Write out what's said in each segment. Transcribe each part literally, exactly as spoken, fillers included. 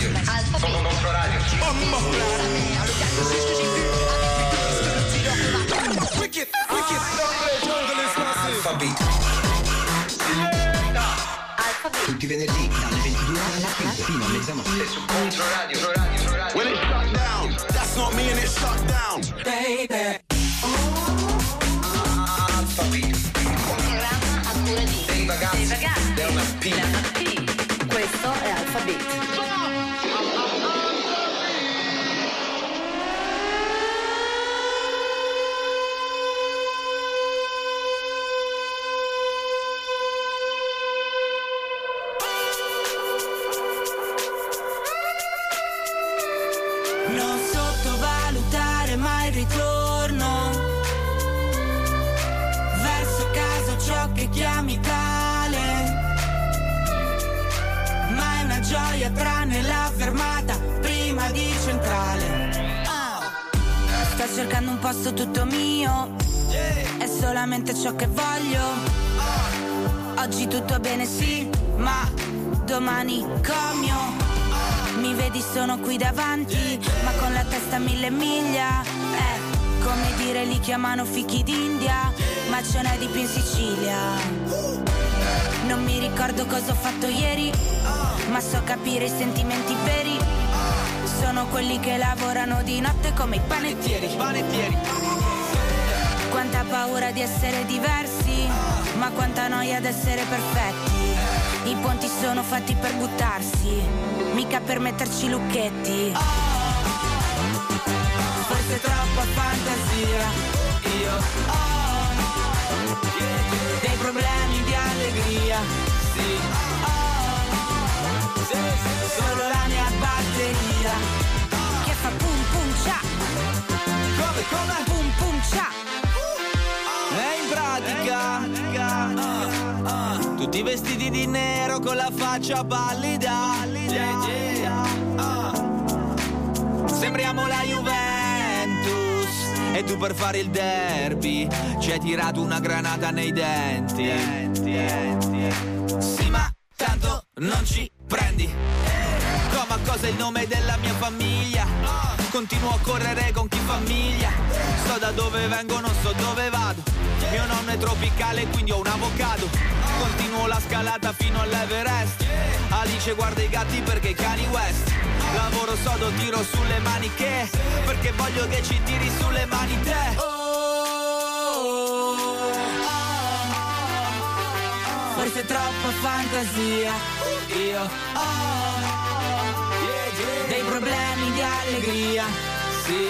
Controradio. Controradio. Alphabet. Tutti i venerdì dalle ventidue alla fino a mezzanotte su Controradio. When it shut down, that's not me and it shut down. Baby. Alphabet. Un programma a cura di Dei ragazzi. Dei ragazzi. Della P. Della P. Questo è Alphabet. Non sottovalutare mai il ritorno verso casa, ciò che chiami tale, ma è una gioia tranne la fermata prima di centrale. Sto cercando un posto tutto mio, è solamente ciò che voglio. Oggi tutto bene sì, ma domani comio. Mi vedi sono qui davanti, ma con la testa a mille miglia. Eh, come dire li chiamano fichi d'India, ma ce n'è di più in Sicilia. Non mi ricordo cosa ho fatto ieri, ma so capire i sentimenti veri. Sono quelli che lavorano di notte come i panettieri. Panettieri. Quanta paura di essere diversi, ma quanta noia di essere perfetti. I ponti sono fatti per buttarsi, mica per metterci lucchetti. Forse troppa fantasia, io ho dei problemi di allegria, sì, solo la mia batteria che fa pum pum cia. Come, come? Pum pum cia. E in pratica uh, uh, tutti vestiti di nero con la faccia pallida, yeah, yeah, uh. Sembriamo la Juventus e tu per fare il derby ci hai tirato una granata nei denti, denti. Sì, ma tanto non ci prendi. Come a cosa il nome della mia famiglia? Continuo a correre con chi famiglia. So da dove vengo, non so dove vado. Mio nonno è tropicale, quindi ho un avocado. Continuo la scalata fino all'Everest. Alice guarda i gatti perché i cani West. Lavoro sodo, tiro sulle maniche, perché voglio che ci tiri sulle mani te. Forse troppa fantasia, io ho dei problemi di allegria, sì,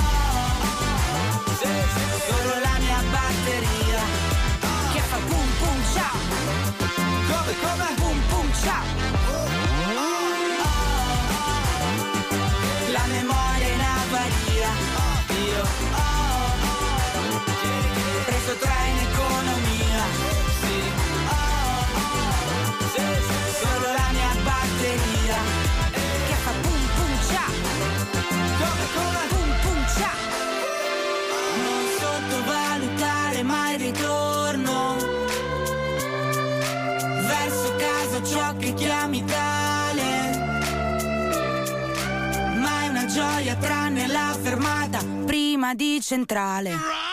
solo la mia batteria che fa pum pum cia. Come, come? Pum pum cia. La memoria in avaria, io ho preso tre in economia, sì, solo la mia batteria che fa pum pum cia. Come, come? Pum pum cia. Non sottovalutare mai il ritorno verso casa, ciò che chiami tale, ma è una gioia tranne la fermata prima di centrale.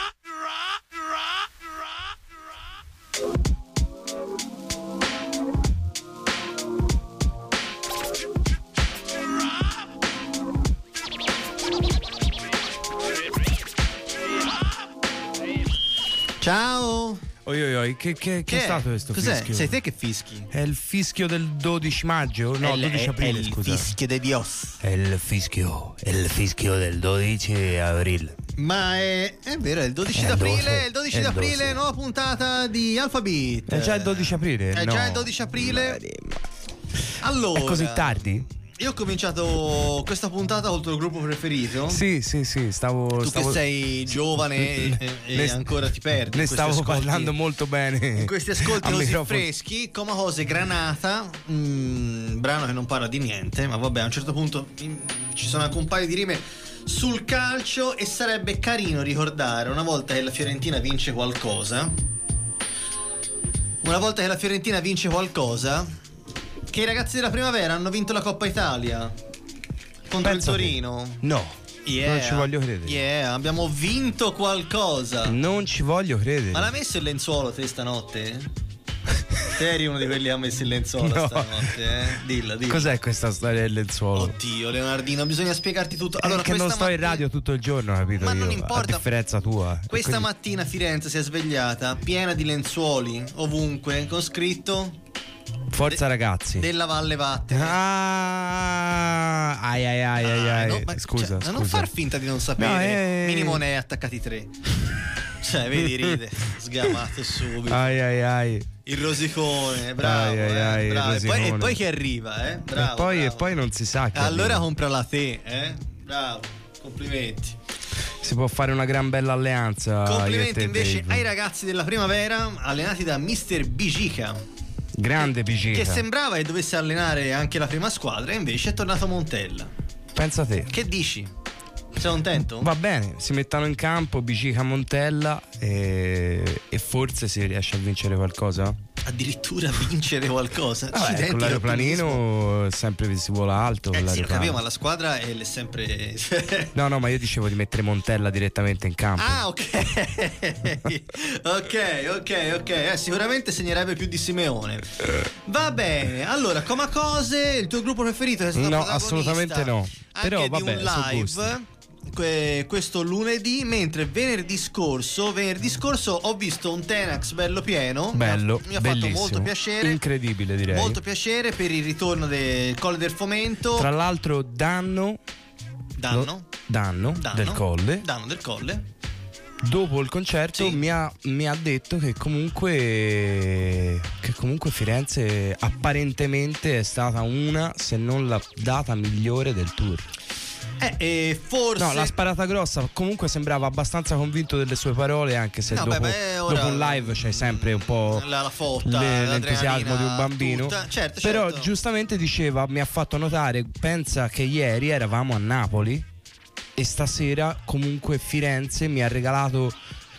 Ciao. Oi oi oi, che, che, che, che è stato questo Cos'è? fischio? Sei te che fischi? È il fischio del dodici maggio? No, è il, dodici aprile, è il scusa. fischio de Dios. È il fischio, è il fischio del dodici aprile. Ma è, è vero, è il dodici È d'aprile, doce, il dodici è d'aprile, doce. nuova puntata di Alphabet. È già il dodici aprile? È no. già il dodici aprile. Allora, È così tardi? io ho cominciato questa puntata col tuo gruppo preferito. Sì, sì, sì, stavo... Tu stavo... che sei giovane e, e Ne- ancora ti perdi. Ne in questi stavo ascolti- parlando molto bene. In questi ascolti a così microfono. freschi, come cose Granata, mm, brano che non parla di niente, ma vabbè, a un certo punto mm, ci sono anche un paio di rime sul calcio e sarebbe carino ricordare una volta che la Fiorentina vince qualcosa, una volta che la Fiorentina vince qualcosa, che i ragazzi della Primavera hanno vinto la Coppa Italia contro Pensa il te. Torino. No. Yeah. Non ci voglio credere. Yeah, abbiamo vinto qualcosa. Non ci voglio credere. Ma l'ha messo il lenzuolo te stanotte? Te eri uno di quelli che ha messo il lenzuolo No. stanotte, eh? Dillo, dillo. Cos'è questa storia del lenzuolo? Oddio, Leonardino, bisogna spiegarti tutto. Allora, È che non questa sto in mattina- radio tutto il giorno, capito? Ma io, non importa. A differenza tua. Questa Quindi- mattina Firenze si è svegliata piena di lenzuoli ovunque, con scritto Forza ragazzi. della Valle Vattene. Ah, ai ai ai ai, Ah, ai. no, ma- Scusa, cioè, scusa. non far finta di non sapere. No, eh. Minimo ne hai attaccati tre. Cioè, vedi, ride, sgamato subito. Ai ai ai. Il rosicone, bravo, Ai, ai, eh, ai, il bravo. E, poi, e rosicone. poi che arriva, eh? Bravo, e, poi, bravo. e poi non si sa che Allora arriva. comprala te, eh? Bravo, complimenti. Si può fare una gran bella alleanza. io e Complimenti te, invece Dave. ai ragazzi della Primavera allenati da mister Bigica, Grande che Pigica. sembrava che dovesse allenare anche la prima squadra e invece è tornato a Montella. Pensa te. Che dici? Sei contento? Va bene, si mettano in campo Bicica Montella e, e forse si riesce a vincere qualcosa. Addirittura vincere qualcosa. Vabbè, Accidenti, con l'ottimismo. l'aeroplanino sempre si vola alto. con Eh sì, lo l'aeroplano. capivo, ma la squadra è sempre. No, no, ma io dicevo di mettere Montella direttamente in campo. Ah, ok. ok, ok, ok. Eh, sicuramente segnerebbe più di Simeone. Va bene. Allora, come cose, il tuo gruppo preferito è stato No, protagonista assolutamente no. anche Però, di vabbè, un sono live gusti. que- questo lunedì, mentre venerdì scorso, venerdì scorso ho visto un Tenax bello pieno. Bello, mi ha, mi ha bellissimo, fatto molto piacere. incredibile direi. Molto piacere per il ritorno del Colle del Fomento. Tra l'altro danno Danno. danno, Danno del Colle. Danno del Colle. Dopo il concerto Sì. mi, ha, mi ha detto che comunque che comunque Firenze apparentemente è stata una, se non la data migliore del tour. Eh, e forse. No, la sparata grossa. Comunque sembrava abbastanza convinto delle sue parole, anche se No, dopo, beh, beh, ora- dopo un live c'è sempre un po' La, la fotta, le- l'adrenalina l'entusiasmo di un bambino. tutta. Certo, Però certo. giustamente diceva, mi ha fatto notare, pensa che ieri eravamo a Napoli e stasera comunque Firenze mi ha regalato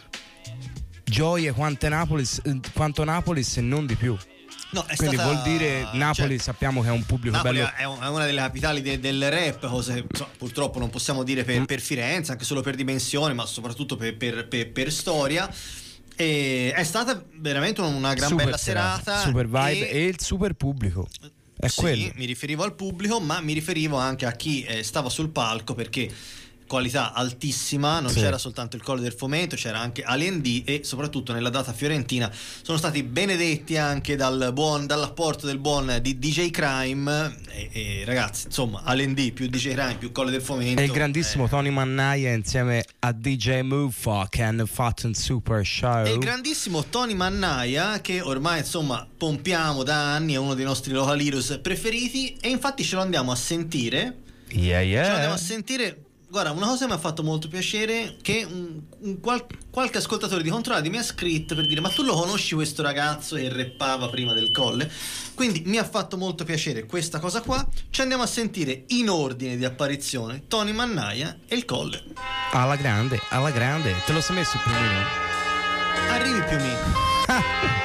gioie quante Napoli, quanto Napoli se non di più. No, è Quindi stata- vuol dire Napoli, cioè, sappiamo che è un pubblico Napoli bello. è un- è una delle capitali de- del rap, cosa che insomma, purtroppo non possiamo dire per, per Firenze, anche solo per dimensione, ma soprattutto per, per- per- per storia. E è stata veramente una gran Super bella serata. super vibe e- e il super pubblico. È sì, quello. mi riferivo al pubblico, ma mi riferivo anche a chi eh, stava sul palco, perché qualità altissima, non Sì. c'era soltanto il Colle del Fomento, c'era anche Alien D e soprattutto nella data fiorentina sono stati benedetti anche dal buon, dall'apporto del buon di D J Crime e, e ragazzi, insomma, Alien D più D J Crime più Colle del Fomento E il grandissimo eh, Tony Mannaia insieme a D J Mufa che hanno fatto un super show. e il grandissimo Tony Mannaia, che ormai insomma pompiamo da anni, è uno dei nostri local heroes preferiti, e infatti ce lo andiamo a sentire. Yeah, yeah. Ce lo andiamo a sentire. Guarda, una cosa che mi ha fatto molto piacere, che un, un qual- qualche ascoltatore di Controllati mi ha scritto per dire: ma tu lo conosci questo ragazzo che rappava prima del Colle? Quindi mi ha fatto molto piacere questa cosa qua. Ci andiamo a sentire in ordine di apparizione Tony Mannaia e il Colle. Alla grande, alla grande. Te lo sei messo il primino? Arrivi più o meno.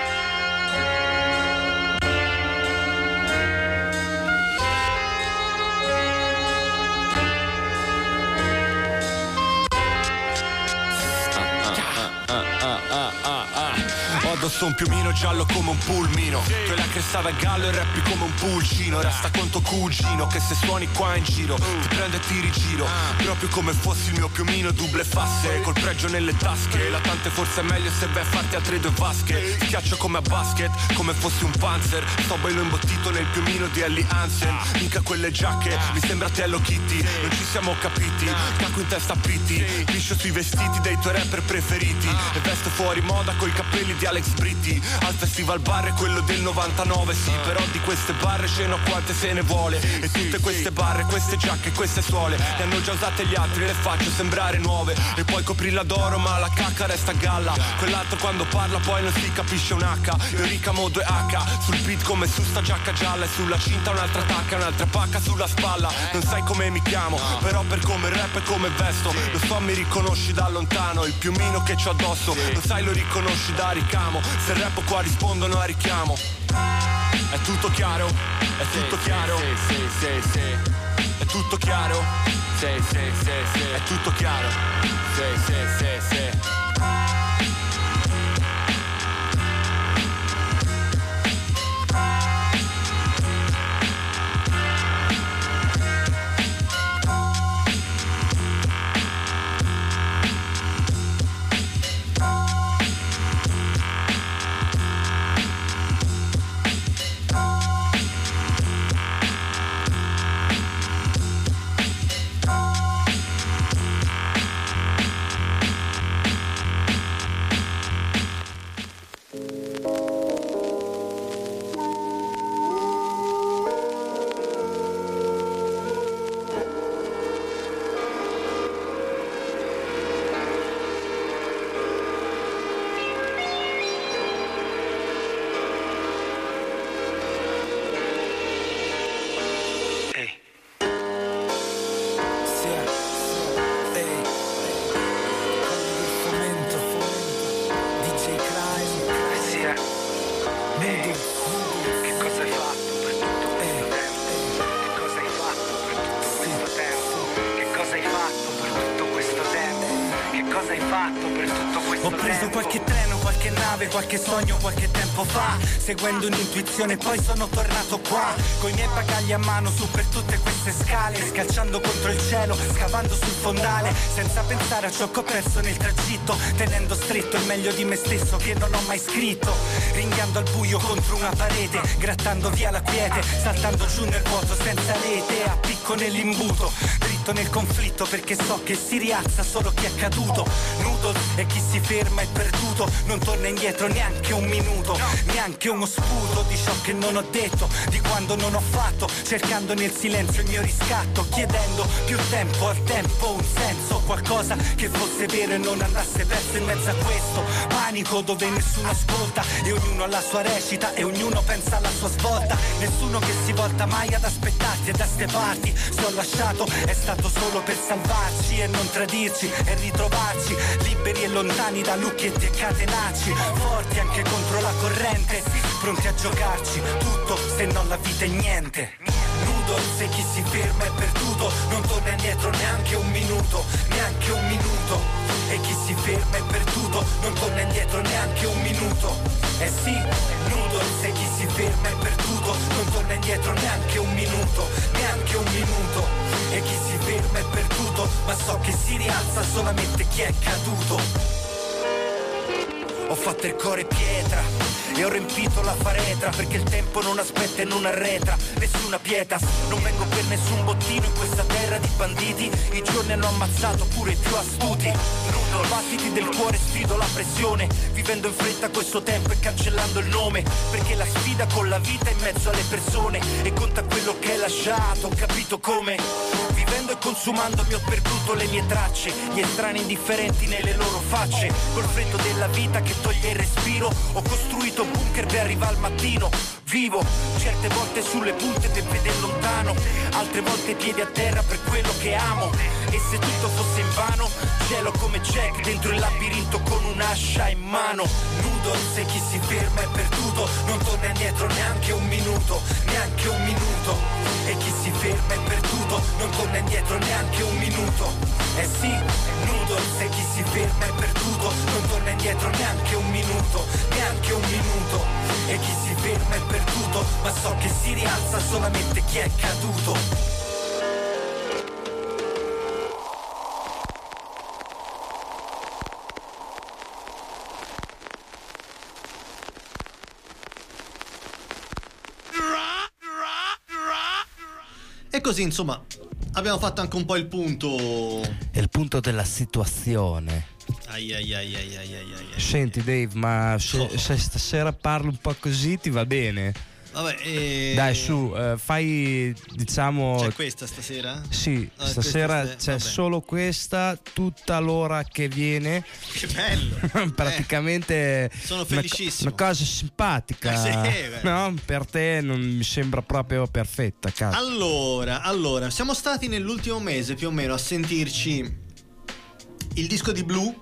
Ho addosso un piumino giallo come un pulmino. Tu hai la crestata a gallo e rappi come un pulcino. Resta con tuo cugino che se suoni qua in giro ti prendo e ti rigiro. Proprio come fossi il mio piumino double fasse, col pregio nelle tasche. La tante forse è meglio se vai a farti altre due vasche. Schiaccio come a basket, come fossi un panzer. Sto bello imbottito nel piumino di Ellie Hansen. Mica quelle giacche, mi sembra Hello Kitty. Non ci siamo capiti, cacco in testa a pitti. Liscio sui vestiti dei tuoi rapper preferiti. E vesto fuori moda coi capelli di Alex Britti. Al festival bar è quello del novantanove, sì. Però di queste barre ce n'ho quante se ne vuole. E tutte queste barre, queste giacche, queste suole le hanno già usate gli altri, le faccio sembrare nuove. E poi coprirla d'oro ma la cacca resta a galla. Quell'altro quando parla poi non si capisce un H. Io ricamo due H sul beat come su sta giacca gialla. E sulla cinta un'altra tacca, un'altra pacca sulla spalla. Non sai come mi chiamo, però per come rap e come vesto lo so, mi riconosci da lontano. Il piumino che c'ho addosso, lo sai, lo riconosci da ricamo. Se rappo qua rispondono a richiamo. È tutto chiaro? È tutto chiaro? Sì, sì, sì, sì. È tutto chiaro? Sì, sì, sì, sì. È tutto chiaro? Sì, sì, sì, sì. Qualche sogno qualche tempo fa, seguendo un'intuizione, poi sono tornato qua coi miei bagagli a mano su per tutte queste scale, scalciando contro il cielo, scavando sul fondale, senza pensare a ciò che ho perso nel tragitto, tenendo stretto il meglio di me stesso che non ho mai scritto, ringhiando al buio contro una parete, grattando via la quiete, saltando giù nel vuoto senza rete, a picco nell'imbuto, dritto nel conflitto perché so che si rialza solo chi è caduto, nudo e chi si ferma è perduto, non torna indietro neanche un minuto, neanche uno sputo di ciò che non ho detto, di quando non ho fatto, cercando nel silenzio il mio riscatto, chiedendo più tempo al tempo, un senso, qualcosa che fosse vero e non andasse perso in mezzo a questo panico dove nessuno ascolta e ognuno ha la sua recita e ognuno pensa alla sua svolta, nessuno che si volta mai ad aspettarti e da ste parti, se ho lasciato è stato solo per salvarci e non tradirci e ritrovarci, liberi e lontani da lucchetti e catenacci, forti anche contro la corrente, pronti a giocarci tutto se non la vita è niente. Nudo se chi si ferma è perduto, non torna indietro neanche un minuto, neanche un minuto. E chi si ferma è perduto, non torna indietro neanche un minuto. Eh sì, nudo se chi si ferma è perduto, non torna indietro neanche un minuto, neanche un minuto. E chi si ferma è perduto, ma so che si rialza solamente chi è caduto. Ho fatto il cuore pietra e ho riempito la faretra, perché il tempo non aspetta e non arretra, nessuna pietas, non vengo per nessun bottino in questa terra di banditi, i giorni hanno ammazzato pure i più astuti, nudo, battiti del cuore, sfido la pressione, vivendo in fretta questo tempo e cancellando il nome, perché la sfida con la vita è in mezzo alle persone e conta quello che hai lasciato, ho capito come, vivendo e consumando mi ho perduto le mie tracce, gli estranei indifferenti nelle loro facce, col freddo della vita che toglie il respiro, ho costruito bunker per arrivare al mattino, vivo certe volte sulle punte del vedere lontano, altre volte piedi a terra per quello che amo, e se tutto fosse invano, cielo come Jack dentro il labirinto con un'ascia in mano, nudo se chi si ferma è perduto, non torna indietro neanche un minuto, neanche un minuto, e chi si ferma è perduto, non torna indietro neanche un minuto, eh sì, nudo se chi si ferma è perduto, non torna indietro neanche un minuto, neanche un minuto, e chi si ferma è perduto, ma so che si rialza solamente chi è caduto. E così, insomma, abbiamo fatto anche un po' il punto. È il punto della situazione. Ai ai ai ai ai ai ai. Senti Dave, ma se, Oh. se stasera parlo un po' così ti va bene? Vabbè, e... Dai su, eh, fai diciamo... C'è questa stasera? Sì, Ah, stasera questa- c'è vabbè. solo questa, tutta l'ora che viene. Che bello. Praticamente sono una- felicissimo. Una, cosa simpatica, Eh sì, beh. no? Per te non mi sembra proprio perfetta, cazzo. Allora, allora, siamo stati nell'ultimo mese più o meno a sentirci il disco di Blue,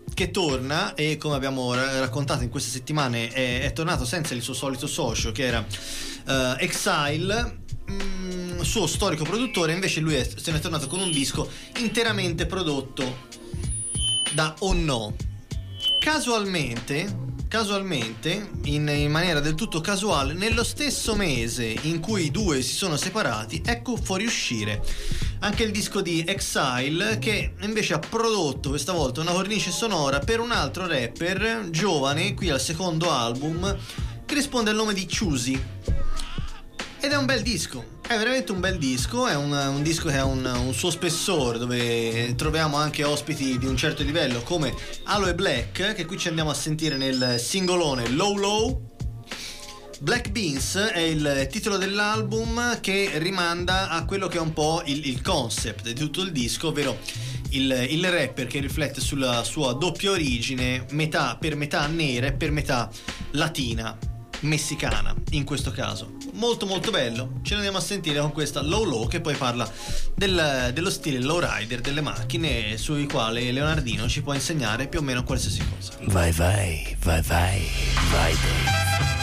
che torna e, come abbiamo ra- raccontato in queste settimane, è, è tornato senza il suo solito socio, che era uh, Exile, mh, suo storico produttore. Invece lui è, se ne è tornato con un disco interamente prodotto da Oh No. Casualmente Casualmente, in, in maniera del tutto casuale, nello stesso mese in cui i due si sono separati, ecco fuoriuscire anche il disco di Exile, che invece ha prodotto questa volta una cornice sonora per un altro rapper giovane, qui al secondo album, che risponde al nome di Choosy. Ed è un bel disco, è veramente un bel disco, è un, un disco che ha un, un suo spessore, dove troviamo anche ospiti di un certo livello come Aloe Black, che qui ci andiamo a sentire nel singolone Low Low. Black Beans è il titolo dell'album, che rimanda a quello che è un po' il, il concept di tutto il disco, ovvero il, il rapper che riflette sulla sua doppia origine, metà per metà nera e per metà latina, messicana in questo caso. Molto molto bello, ce ne andiamo a sentire con questa Low Low, che poi parla del, dello stile lowrider delle macchine, sui quali Leonardino ci può insegnare più o meno qualsiasi cosa. Vai vai, vai vai, vai Dave.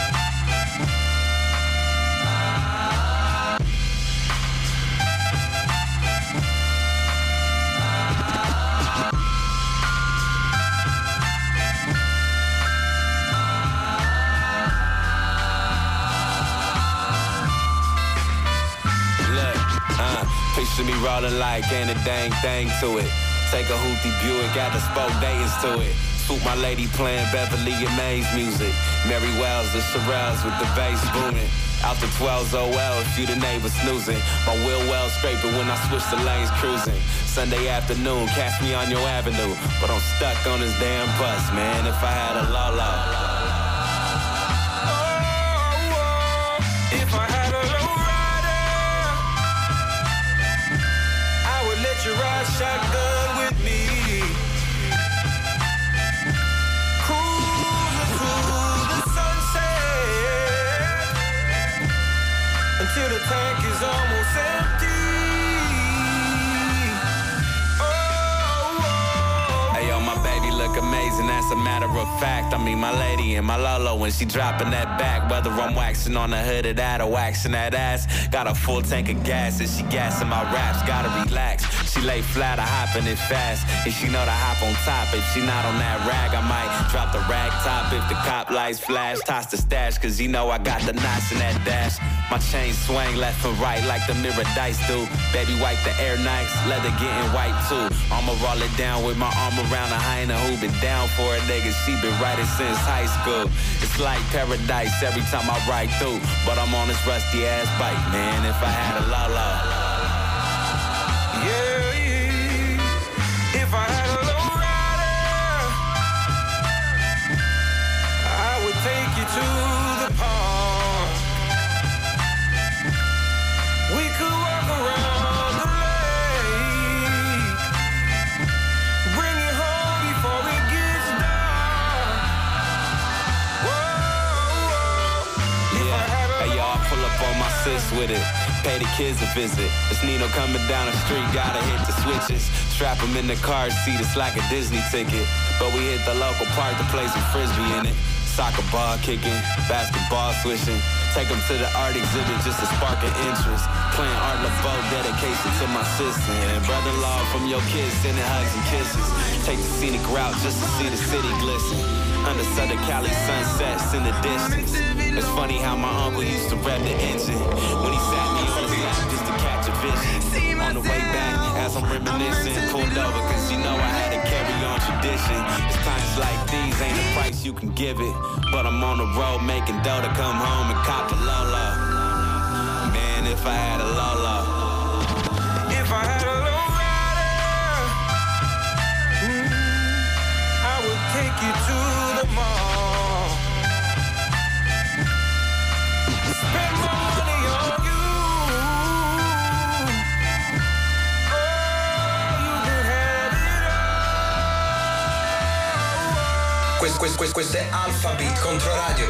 Picture me rolling like ain't a dang thing to it. Take a hoopty Buick, got the spoke Dayton's to it. Swoop my lady playing Beverly and Mays music. Mary Wells, the Shirelles with the bass booming. Out the twelves, oh well, if you the neighbor snoozing. My wheel well scraping when I switch the lanes cruising. Sunday afternoon, catch me on your avenue. But I'm stuck on this damn bus, man, if I had a Lolo. If I had a low rider, I would let you ride shotgun with me. Cruising through the sunset until the tank is almost empty. Look amazing, that's a matter of fact. I mean, my lady and my Lolo, when she dropping that back, whether I'm waxing on the hood of that or waxing that ass, got a full tank of gas and she gassing my raps. Gotta relax, she lay flat, I hopping it fast. And she know to hop on top. If she not on that rag, I might drop the rag top. If the cop lights flash, toss the stash, cause you know I got the knots in that dash. My chain swing left and right like the mirror dice do. Baby, wipe the Air Nikes, leather getting white too. I'ma roll it down with my arm around her. I ain't a who been down for a nigga, she been writing since high school. It's like paradise every time I ride through. But I'm on this rusty ass bike, man, if I had a Lolo. Yeah, yeah. If I had a low rider, I would take you to the park. We could walk around the lake, bring you home before it gets dark. Whoa, whoa. Yeah, hey y'all, pull up on my sis with it. Pay the kids a visit. It's Nino coming down the street, gotta hit the switches. Strap him in the car seat, it's like a Disney ticket. But we hit the local park to play some frisbee in it. Soccer ball kicking, basketball swishing. Take them to the art exhibit just to spark an interest. Playing Art LeBeau, dedication to my sister. And brother-in-law from your kids, sending hugs and kisses. Take the scenic route just to see the city glisten. Under Southern Cali sunsets in the distance. It's funny how my uncle used to rev the engine when he sat me on his lap just to catch a vision. On the way back, as I'm reminiscing, pulled over cause you know I had to carry on tradition. It's times like these, ain't a price you can give it. But I'm on the road making dough to come home and cop a Lolo. Man, if I had a Lolo. If I had a low rider, mm, I would take you to the mall. Spend my money on you. Oh, you can have it all. Questo, questo, questo è Alpha Beat Controradio.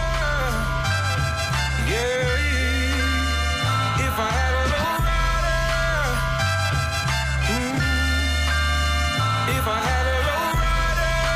Yeah, yeah. If I had a low rider, mm, if I had a low rider,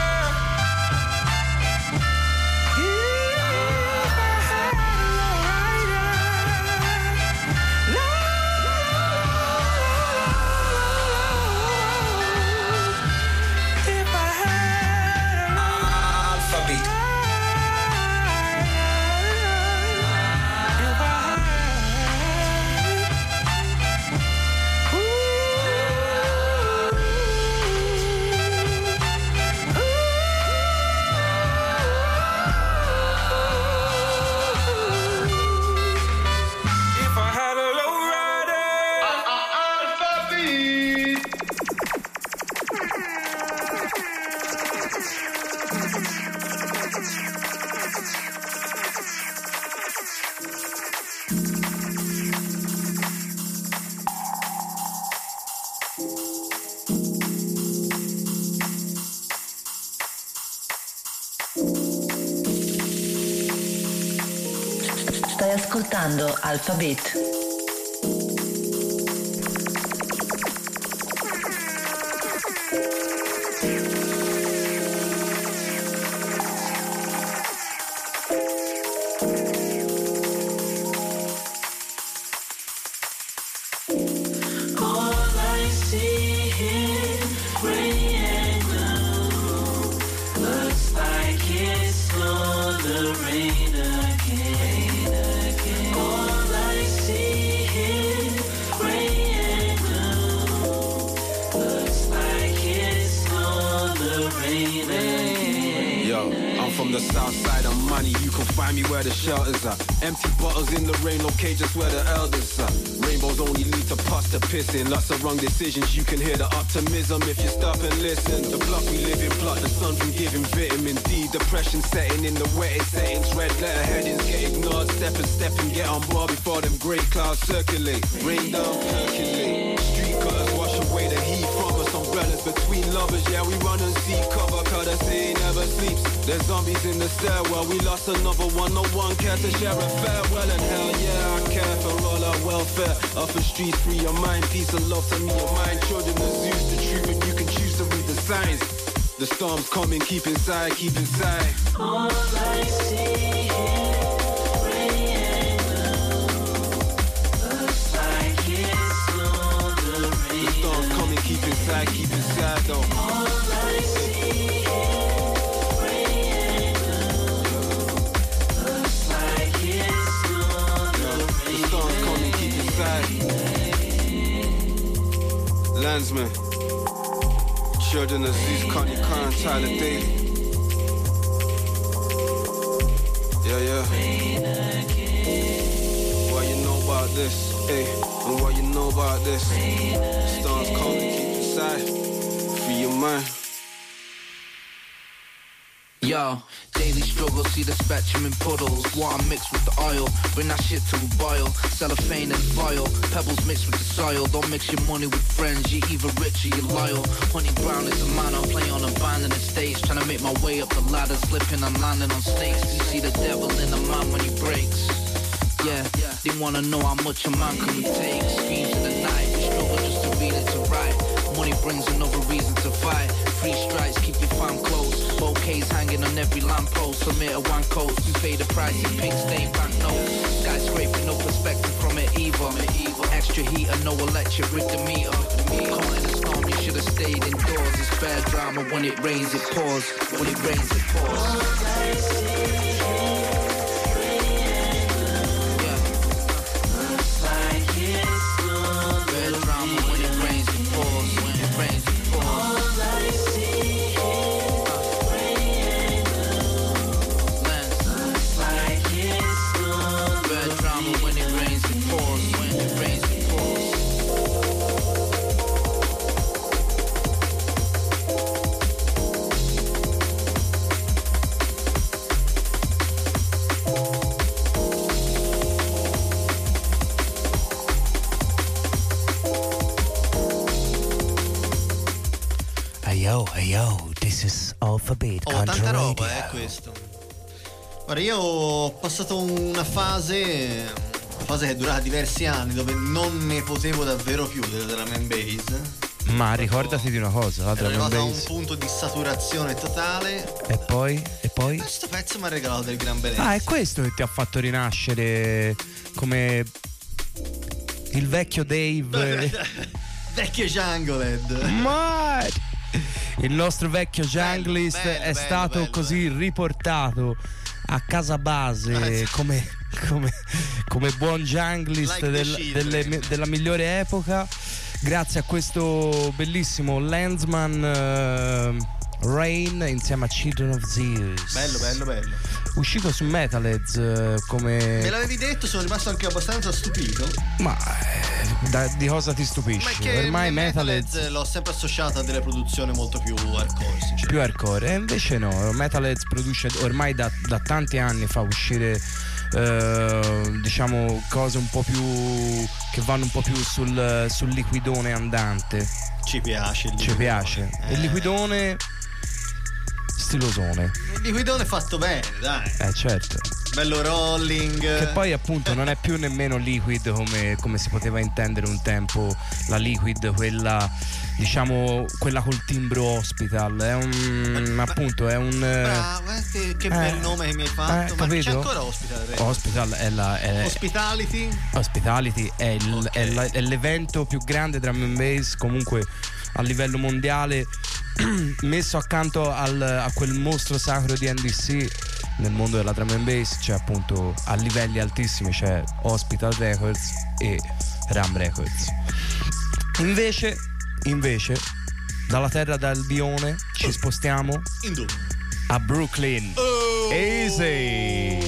ascoltando Alphabet. Shelters are empty bottles in the rain, no cages where the elders are. Rainbows only lead to pasta pissing. Lots of wrong decisions, you can hear the optimism if you stop and listen. The block we live in, block the sun from giving vitamin D. Depression setting in the wettest settings. Red letter headings get ignored. Step and step and get on board before them grey clouds circulate. Rain down, percolate. Street cutters wash away the heat from us. Umbrellas between lovers, yeah we run and seek cover. Cause the sea never sleeps. There's zombies in the stairwell. We lost another one, no one care to share a farewell. And hell yeah, I care for all our welfare. Off the streets, free your mind. Peace and love to me, your mind. Children, the Zeus, the truth, and you can choose to read the signs. The storm's coming, keep inside, keep inside. All I see is rain and blue. Looks like it's on the rain. The storm's coming, keep inside, keep inside though. All I see is rain and blue. Looks like it's on the rain. The storm's coming, keep inside. Landsman, children of Zeus, Connie, Karen, Tyler, Daly. Yeah, yeah. What you know about this, hey, and what you know about this. Storms coming, keep inside, free your mind. Yo, daily struggle, see the spectrum in puddles. Water mixed with the oil, bring that shit to a boil. Cellophane and foil, pebbles mixed with the soil. Don't mix your money with friends, you're either rich or you're loyal. Honey Brown is a man, I play on abandoned estates. Trying to make my way up the ladder, slipping and landing on snakes. You see the devil in a man when he breaks. Yeah, they wanna know how much a man can take. Screams in the night, we struggle just to read it to write. Money brings another reason to fight. Free strikes, keep your fam close. Bouquets hanging on every lamppost. Submit a one coat, you pay the price in pink stain banknotes. Skyscraper, no perspective from it either. Extra heater, no electric, rig the meter. Caught in a storm, you should've stayed indoors. It's fair drama, when it rains it pours. When it rains it pours. Fair drama, when it rains it pours. When it rains it pours. Yo, yo, this is Alphabet. Oh, tanta roba, eh, questo. Guarda, io ho passato una fase, una fase che è durata diversi anni, dove non ne potevo davvero più della drum and bass. Ma ricordati di una cosa, la ero drum and arrivato a un bass. punto di saturazione totale. E poi? E poi? Questo pezzo mi ha regalato del gran benessere. Ah, è questo che ti ha fatto rinascere come il vecchio Dave. Vecchio Jungled. Ma il nostro vecchio junglist bello, è bello, stato bello, così riportato a casa base come, come, come buon junglist Like the del- children. delle- della migliore epoca, grazie a questo bellissimo Landsman eh, Rain insieme a Children of Zeus. Bello, bello, bello. Uscito su Metalheads eh, come... Me l'avevi detto, sono rimasto anche abbastanza stupito. Ma eh, da- di cosa ti stupisci? Ma è che Ormai Metalheads Metalheads l'ho sempre associata a delle produzioni molto più hardcore, sinceramente. più hardcore, e invece no, Metalheads produce ormai da, da tanti anni, fa uscire eh, diciamo cose un po' più che vanno un po' più sul, sul liquidone andante. Ci piace il Ci liquidone. piace Eh. il liquidone stilosone. Il liquidone fatto bene, dai. Eh certo. bello rolling. Che poi appunto non è più nemmeno liquid come, come si poteva intendere un tempo, la liquid, quella diciamo quella col timbro Hospital, è un ma, appunto è un bravo, eh, che, che eh, bel nome che mi hai fatto, eh, ma capito? c'è ancora Hospital? Vero? Hospital è la è, Hospitality Hospitality è, il, okay. è, la, è l'evento più grande drum and bass comunque a livello mondiale, messo accanto al, a quel mostro sacro di N D C nel mondo della drum and bass. C'è appunto a livelli altissimi, c'è Hospital Records e Ram Records. Invece invece dalla terra d'Albione ci oh. spostiamo in dove? A Brooklyn. Oh. Easy.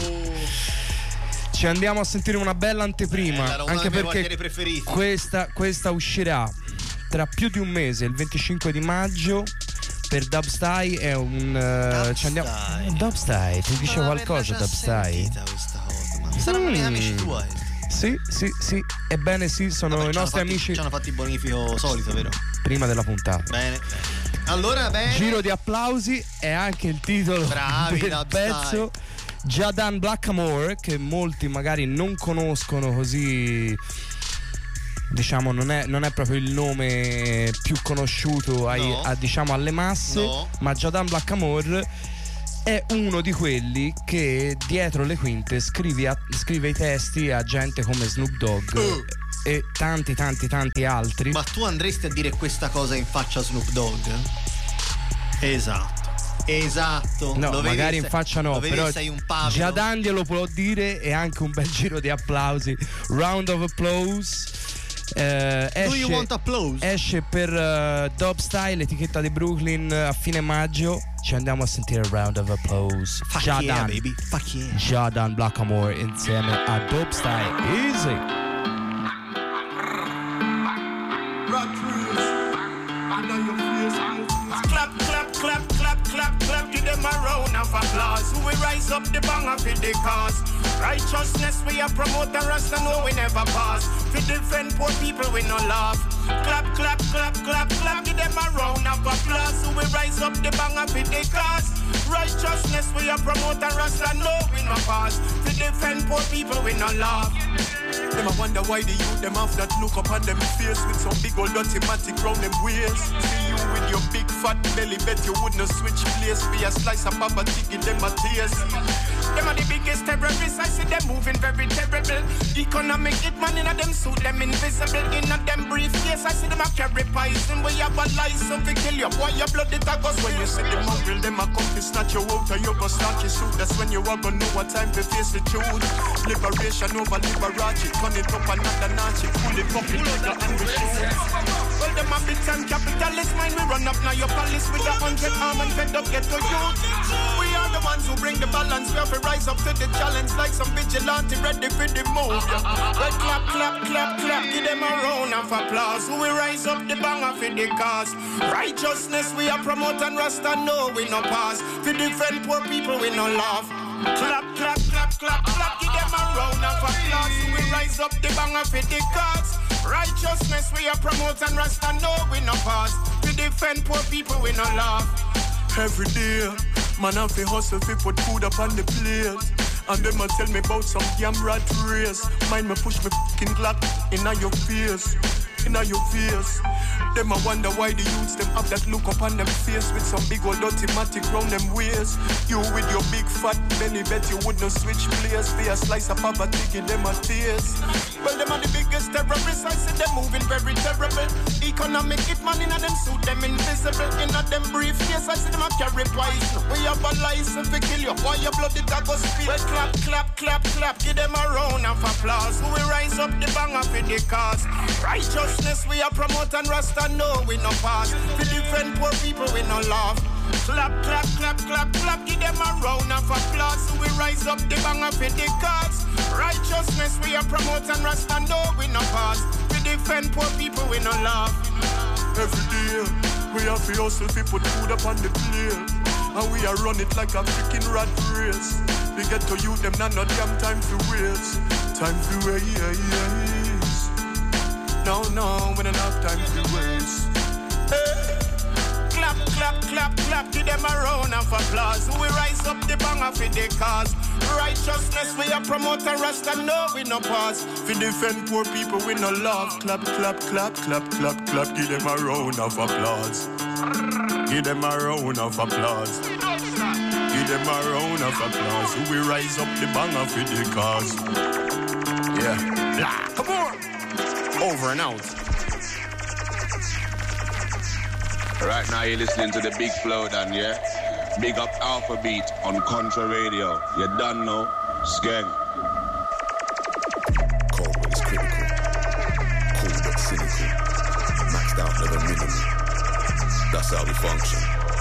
Ci andiamo a sentire una bella anteprima, eh, anche perché questa, questa uscirà tra più di un mese, il venticinque di maggio, per Dubstyle. È un uh, ci andiamo Dubstyle, ti dice qualcosa Dubstyle? Saranno mm. amici tuoi? Sì, sì, sì, ebbene sì, sono Vabbè, i nostri fatti, amici. Ci hanno fatto il bonifico solito, vero? Prima della puntata. Bene, bene. Allora, bene. Giro di applausi è anche il titolo Bravi, del pezzo. Jadan Blackamore, che molti magari non conoscono così, diciamo non è, non è proprio il nome più conosciuto ai, no. a, diciamo alle masse, no. ma Jadan Blackamore è uno di quelli che dietro le quinte scrive, a, scrive i testi a gente come Snoop Dogg uh. e tanti tanti tanti altri. Ma tu andresti a dire questa cosa in faccia a Snoop Dogg? Esatto. Esatto, no, lo magari vedi, in faccia no, però Jadan glielo può dire, e anche un bel giro di applausi. Round of applause. Eh, esce, Do you want applause? Esce per uh, Dubstyle, etichetta di Brooklyn, a fine maggio. Ci andiamo a sentire Round of Applause. Fuck Jadan, yeah, baby. Fuck yeah. Jadan Blackamore insieme a Dubstyle. Easy. Clap, clap, clap, clap, clap, clap, give them a round of applause. We rise up the banger for the cause. Righteousness we are promote and rest and know we never pass. We defend poor people we no laugh. Clap, clap, clap, clap, clap, give them a round of applause. We rise up the banger for the cause. Righteousness we are promote and rest and know we no pass. We defend poor people we no laugh. Them I wonder why the youth them have that look up on them face with some big old dirty matic round them waist. See you with your big fat belly, bet you wouldn't switch place for a slice of papa chicken them a taste. Them are the biggest terrorists, I see them moving very terrible. Economic hitman in a them suit, them invisible. In a them briefcase, I see them a carry poison. We have a license to kill you, boy your blood it a go. When you see them mongrel, them a come to snatch you out and you go start your suit. That's when you are gonna know what time to face the truth. Liberation over Liberace, turn it up another notch. Pull it up, pull it up and we shoot. Well them a big time capitalist mind, we run up now your palace with a hundred arm and fed up get to youth. We are the ones who bring the balance, we have to rise up to the challenge like some vigilante ready for the move. Well clap, clap, clap, clap, give them a round of applause. We rise up the banger for the cause. Righteousness we are promote and Rasta know we no pass. To defend poor people we no laugh. Clap, clap, clap, clap, clap, give them a round of applause. We rise up the banger for the cause. Righteousness we are promote and Rasta know we no pass. To defend poor people we no laugh. Every day, man have to hustle to put food up on the plate. And them a tell me about some damn rat race. Mind me push me fucking Glock inna your face, inna your face. Them a wonder why the youths them have that look up on them face with some big old dirty matic round them waist. You with your big fat belly, bet you wouldn't switch place for a slice of poverty, give them a taste. Well, them are the biggest terrorists, I see them moving very terrible. Economic hitman inna them suit, them invisible. Inna them briefcase, I see them a carry poison. We have a license to kill you, why your blood it a go spill. Well, clap, clap, clap, clap, give them a round of applause. We rise up the banger for the cause. Righteousness we are promote and Rasta know we no pass. To defend poor people we no laugh. Clap, clap, clap, clap, clap, give them a round of applause. We rise up the banger for the cause. Righteousness we are promote and Rasta know we no pass. To defend poor people we no laugh. Every day we have to hustle to put food up on the plate. And we are run it like a freaking rat race. We get to you them not no damn time to waste. Time to waste. No, no, we don't have time to waste. Hey. Clap, clap, clap, clap, clap. Give them a round of applause. We rise up the banger for the cause. Righteousness we are promote a Rasta, no we no pause. For defend poor people we no love. Clap, clap, clap, clap, clap, clap. Give them a round of applause. Give them a round of applause. Give them a round of applause. We rise up the banger for the cause. Yeah. Blah. Come on. Over and out. Right now you're listening to the Big Flow, Dan, yeah? Big up Alpha Beat on Contra Radio. You done know? Skeng. Cold but it's critical. Cool but cynical. Maxed out, never minimal. That's how we function.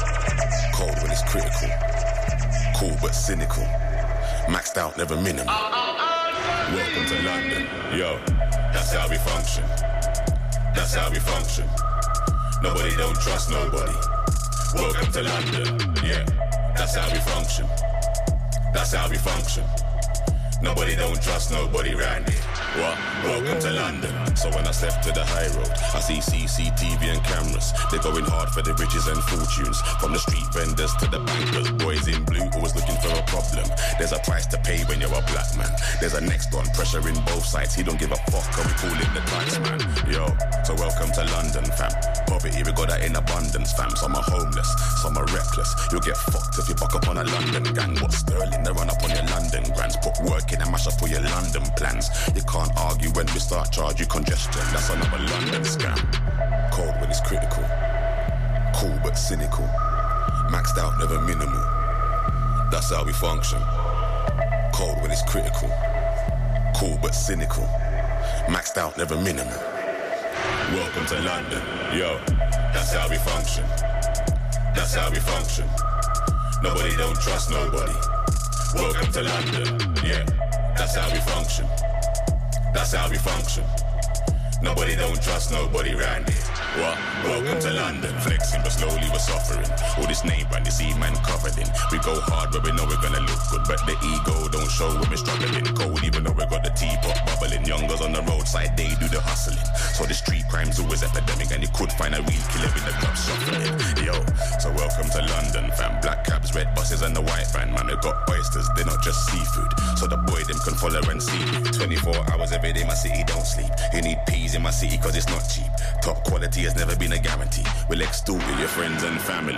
Cold when it's critical. Cool but cynical. Maxed out, never minimal. Welcome to London. Yo, that's how we function. That's how we function. Nobody don't trust nobody. Welcome to London. Yeah, that's how we function. That's how we function. Nobody don't trust nobody round here. What? Welcome to London. So when I step to the high road, I see C C T V and cameras. They're going hard for the riches and fortunes. From the street vendors to the bankers. Boys in blue always looking for a problem. There's a price to pay when you're a black man. There's a next one, pressure in both sides. He don't give a fuck, and we call him the tax man. Yo, so welcome to London, fam. Poverty, we got that in abundance, fam. Some are homeless, some are reckless. You'll get fucked if you buck up on a London gang. What Sterling, they run up on your London grands. Put work in and mash up all your London plans. You can't argue when we start charge you congestion. That's another London scam. Cold when it's critical. Cool but cynical. Maxed out, never minimal. That's how we function. Cold when it's critical. Cool but cynical. Maxed out, never minimal. Welcome to London. Yo, that's how we function. That's how we function. Nobody don't trust nobody. Welcome to London. Yeah, that's how we function. That's how we function. Nobody don't trust nobody round here. What? Welcome to London. Flexing but slowly we're suffering. All this name brand, this E-man covered in. We go hard where we know we're gonna look good, but the ego don't show when we're struggling. Cold even though we got the teapot bubbling. Youngers on the roadside, they do the hustling. So the street crime's always epidemic, and you could find a real killer in the club shuffling. Yo, so welcome to London, fam. Black cabs, red buses and the white van. Man, we got oysters, they're not just seafood. So the boy them can follow and see me. twenty-four hours every day, my city don't sleep. You need peas in my city cause it's not cheap. Top quality has never been a guarantee. We'll extol with your friends and family.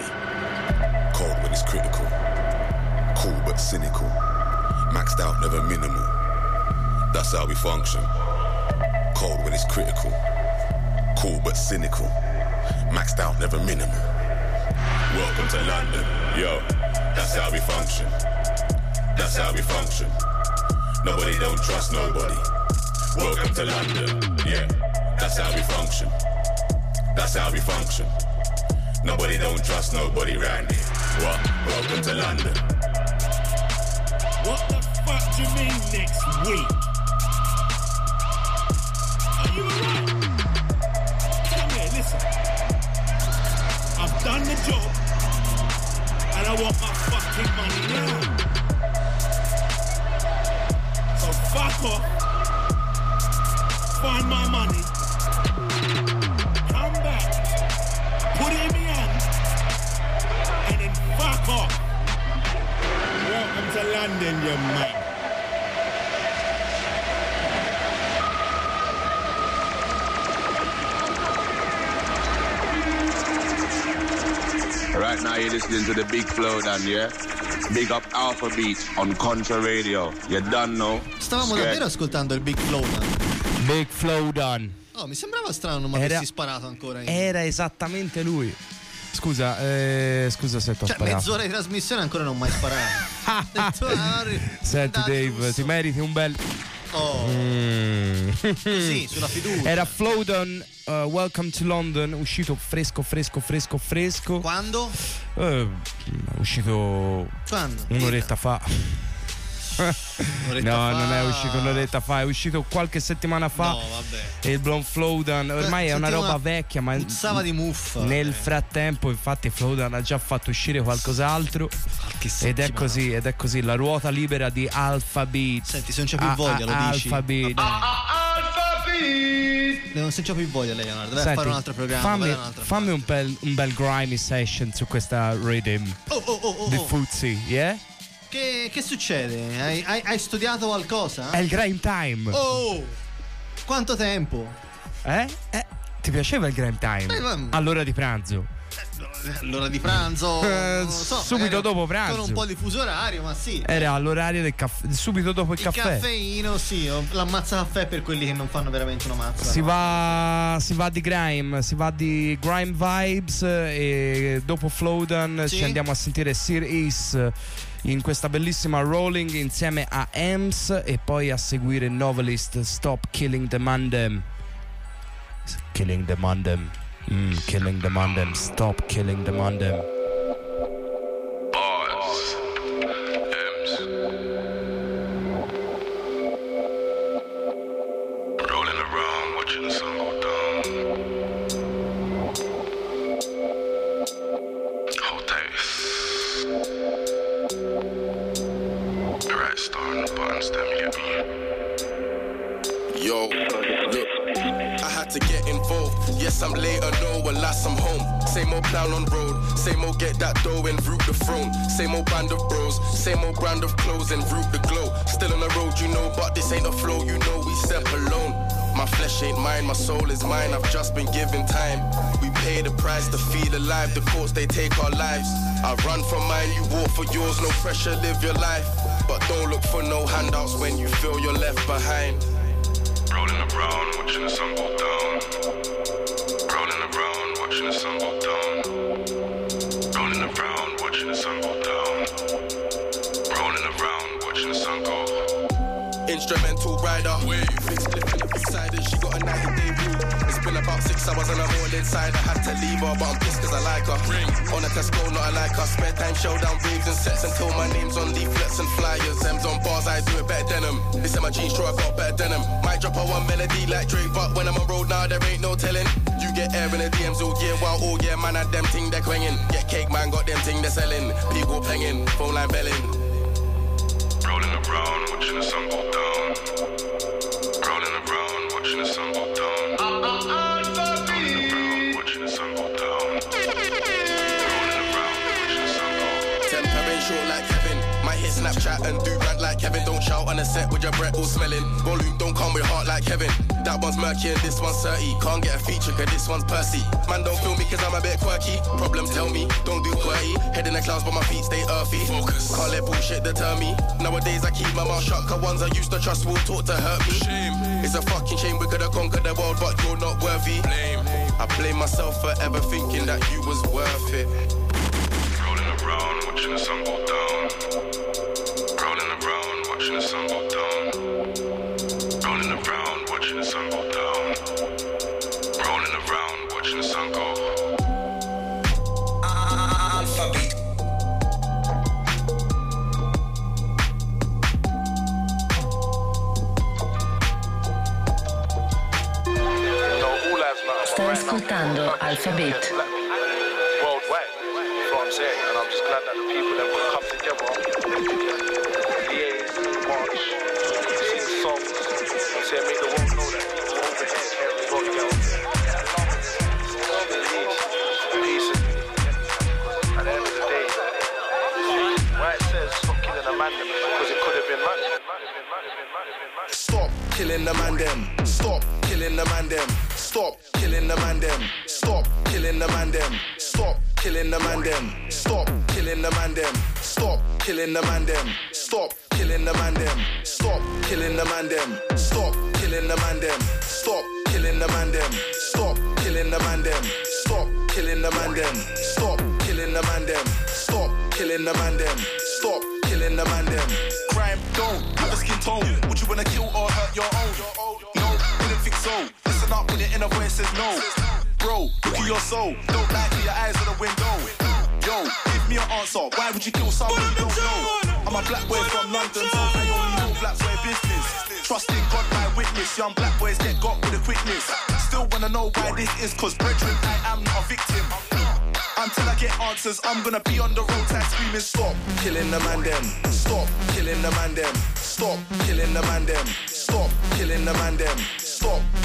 Cold when it's critical. Cool but cynical. Maxed out, never minimal. That's how we function. Cold when it's critical. Cool but cynical. Maxed out, never minimal. Welcome to London. Yo, that's how we function. That's how we function. Nobody don't trust nobody. Welcome to London. Yeah, that's how we function. That's how we function. Nobody don't trust nobody round here. What? Welcome to London. What the fuck do you mean next week? Are you alright? Come here, listen. I've done the job and I want my fucking money now. So fuck off. Find my money. Come back. Put it in my hand. And then fuck off. Welcome to London, you man. Right now you're listening to the Big Flow, Dan, yeah? Big up Alpha Beat on Contra Radio. You done know? Stavamo Scared. davvero ascoltando il Big Flow, Dan. Big Flow Dan. Oh, mi sembrava strano non mi Era- avessi sparato ancora in... Era esattamente lui. Scusa, eh, scusa se ti ho Cioè, sparato. mezz'ora di trasmissione ancora non ho mai sparato. Senti Dave, ti meriti un bel... Oh. Mm. Sì, sulla fiducia. Era Flowdown, uh, Welcome to London, uscito fresco, fresco, fresco, fresco. Quando? Eh, uscito Quando? un'oretta fa. Un'oretta no, fa. non è uscito un'oretta fa, è uscito qualche settimana fa. No, vabbè. E il Blonde Flowdown ormai è una Sentivo roba una vecchia, ma puzzava di muffa. nel eh. frattempo, infatti, Flowdown ha già fatto uscire qualcos'altro. Qualche Ed è settimana. così, ed è così, la ruota libera di Alpha Beat. Senti, se non c'è più Ah, voglia, ah, lo dici. Alpha Beat. Va bene. Alpha Beat. non c'ho più voglia, Leonardo. Vai a fare un altro programma. Fammi, un altro fammi un, bel, un bel grimy session su questa rhythm oh, oh, oh, oh, di oh. Fuzzy, yeah? Che, che succede? Hai, hai, hai studiato qualcosa? È il grime time. Oh! Quanto tempo? Eh? eh ti piaceva il grime time? Eh, ma... All'ora di pranzo. L'ora di pranzo eh, so, subito dopo pranzo con un po' di fuso orario, ma sì, era all'orario del caffè, subito dopo il, il caffè. caffeino, sì, l'ammazza caffè per quelli che non fanno veramente una mazza. Si no? va si va di grime, si va di grime vibes e dopo Flowdown sì? Ci andiamo a sentire Sir Is in questa bellissima rolling insieme a Ems e poi a seguire Novelist Stop Killing the Mandem. Killing the Mandem. Mm, killing the Mandem. Stop killing the Mandem. Bars. M's. Rolling around, watching the sun go down. Hold tight. The right star on the button stem, you get me? Yo, look. I had to get involved. Yes, I'm later, no, alas, I'm home. Same old plan on road, same old get that dough and root the throne. Same old band of bros, same old brand of clothes and root the glow. Still on the road, you know, but this ain't a flow, you know, we step alone. My flesh ain't mine, my soul is mine, I've just been given time. We pay the price to feel alive, the courts, they take our lives. I run for mine, you walk for yours, no pressure, live your life. But don't look for no handouts when you feel you're left behind. Rolling around, watching the sun go down. Rolling around, watching the sun go down. Rolling around, watching the sun go down. Rolling around, watching the sun go. Instrumental rider, wave. Fixed lifting up inside her, she got a ninety day rule. It's been about six hours and I'm all inside. I had to leave her, but I'm pissed cause I like her. Ring. On a Tesco, not I like her. Spare time, showdown, waves and sets until my name's on leaflets and flyers. M's on bars, I do it better than them. This is my jeans, sure I got better than them. Might drop a one melody like Drake, but when I'm on road now, there ain't no telling. You get air in the D Ms all year, while all year, man, I them ting they're quanging. Get cake, man, got them ting they're selling. People penging, phone line belling. Rolling around, watching the sun go down. Rolling around, watching the sun go down. Rolling around, watching the sun go down. Rolling around, watching the sun go. Temper ain't short like Kevin. Might hit Snapchat and do rant like Kevin. Don't shout on the set with your breath all smelling. Volume don't come with heart like Kevin. That one's murky and this one's thirty. Can't get a feature cause this one's Percy. Man don't feel me cause I'm a bit quirky. Problems tell me, don't do quirky. Head in the clouds but my feet stay earthy. Focus. Can't let bullshit deter me. Nowadays I keep my mouth shut cause ones I used to trust will talk to hurt me. Shame. It's a fucking shame we could've conquered the world but you're not worthy. Blame. I blame myself for ever thinking that you was worth it. Rolling around, watching the sun go down. Rolling around, watching the sun go down. Rolling around, watching the sun go down. Rolling around, watching the sun go. Alphabet. Stai ascoltando Alphabet. Worldwide, that's what I'm saying, and I'm just glad that the people that will come together, liaise, march, sing songs, and say make the world know that people over here care as well, yo. Peace and unity. At the end of the day, why it says stop killing a man because it could have been man. Stop killing the man them. Stop killing the man them. Stop killing the man them. Stop killing the man them. Stop killing the man them. Stop killing the man them. Stop killing the man them. Stop killing the man them. Stop killing the man them. Stop killing the man them. Stop killing the man them. Stop killing the man them. Stop killing the man them. Stop killing the man them. Stop killing the man them. Stop killing the man them. Crime don't have a skin tone. Would you wanna kill or hurt your own? No, wouldn't think so. Listen up when your inner voice says no. Bro, look at your soul. Don't lie to your eyes on the window. Yo, give me an answer. Why would you kill someone you don't know? I'm a black boy from London, so I only know black boy business. Trust in God, my witness. Young black boys get got with a quickness. Still wanna know why this is, cause brethren, I am not a victim. Until I get answers, I'm gonna be on the roadside screaming, stop killing the man them. Stop killing the man them. Stop killing the man them. Stop killing the man them. Stop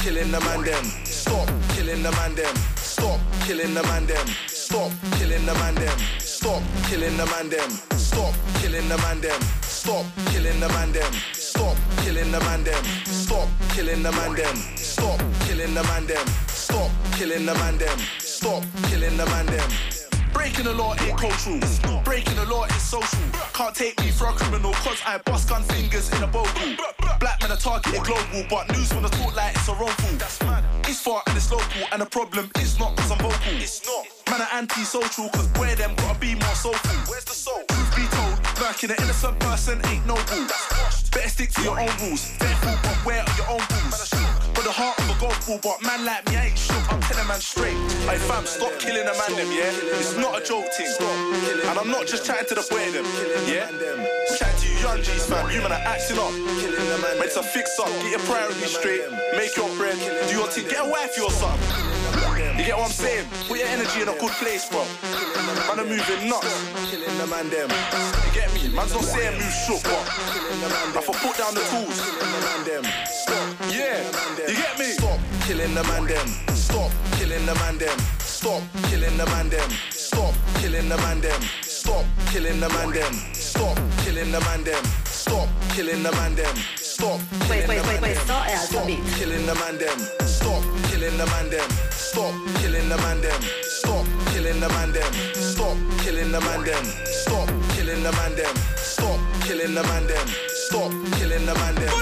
killing the man them. Stop killing the man them. Stop killing the man them. Stop killing the man them. Stop killing the man them. Stop killing the man them. Stop killing the man them. Stop killing the man them. Stop killing the man them. Stop killing the man them. Stop killing the man them. Stop killing the man them. Breaking the law ain't cultural. Breaking the law is social. Can't take me for a criminal cause I bust gun fingers in a bogle. Black men are targeted global, but news wanna talk like it's a wrongful. It's far and it's local, and the problem is not cause I'm vocal. It's not. Man are anti-social cause where them gotta be more soulful. Where's the soul? Truth be told, murking an innocent person ain't noble. Better stick to your own rules. Faithful, but where are your own rules? But the heart of a golf ball, but man like me, I ain't shook. I'm telling man straight. Hey fam, stop killing a man them, yeah? It's not a joke thing. And I'm not just chatting to the boy them, yeah? I'm chatting to you young G's fam, you man are acting up. Meant to fix up, get your priorities straight. Make your bread, do your thing, get a wifey or something. You get what I'm saying? Put your energy in a good place, bro. Man are moving nuts. Killing the man them. You get me? Man's not saying move shook, but I for put down the tools. Killing the man them. Yeah, you get me? Stop killing the man them. Stop killing the man them. Stop killing the man them. Stop killing the man them. Stop killing the man them. Stop killing the man them. Stop killing the man them. Stop killing the man them. Questo è Alfa Beat. Killing the man them. Stop killing the man them. Stop killing the man them. Stop killing the man them. Stop killing the man them. Stop killing the man them. Stop killing the man them. Stop killing the man them.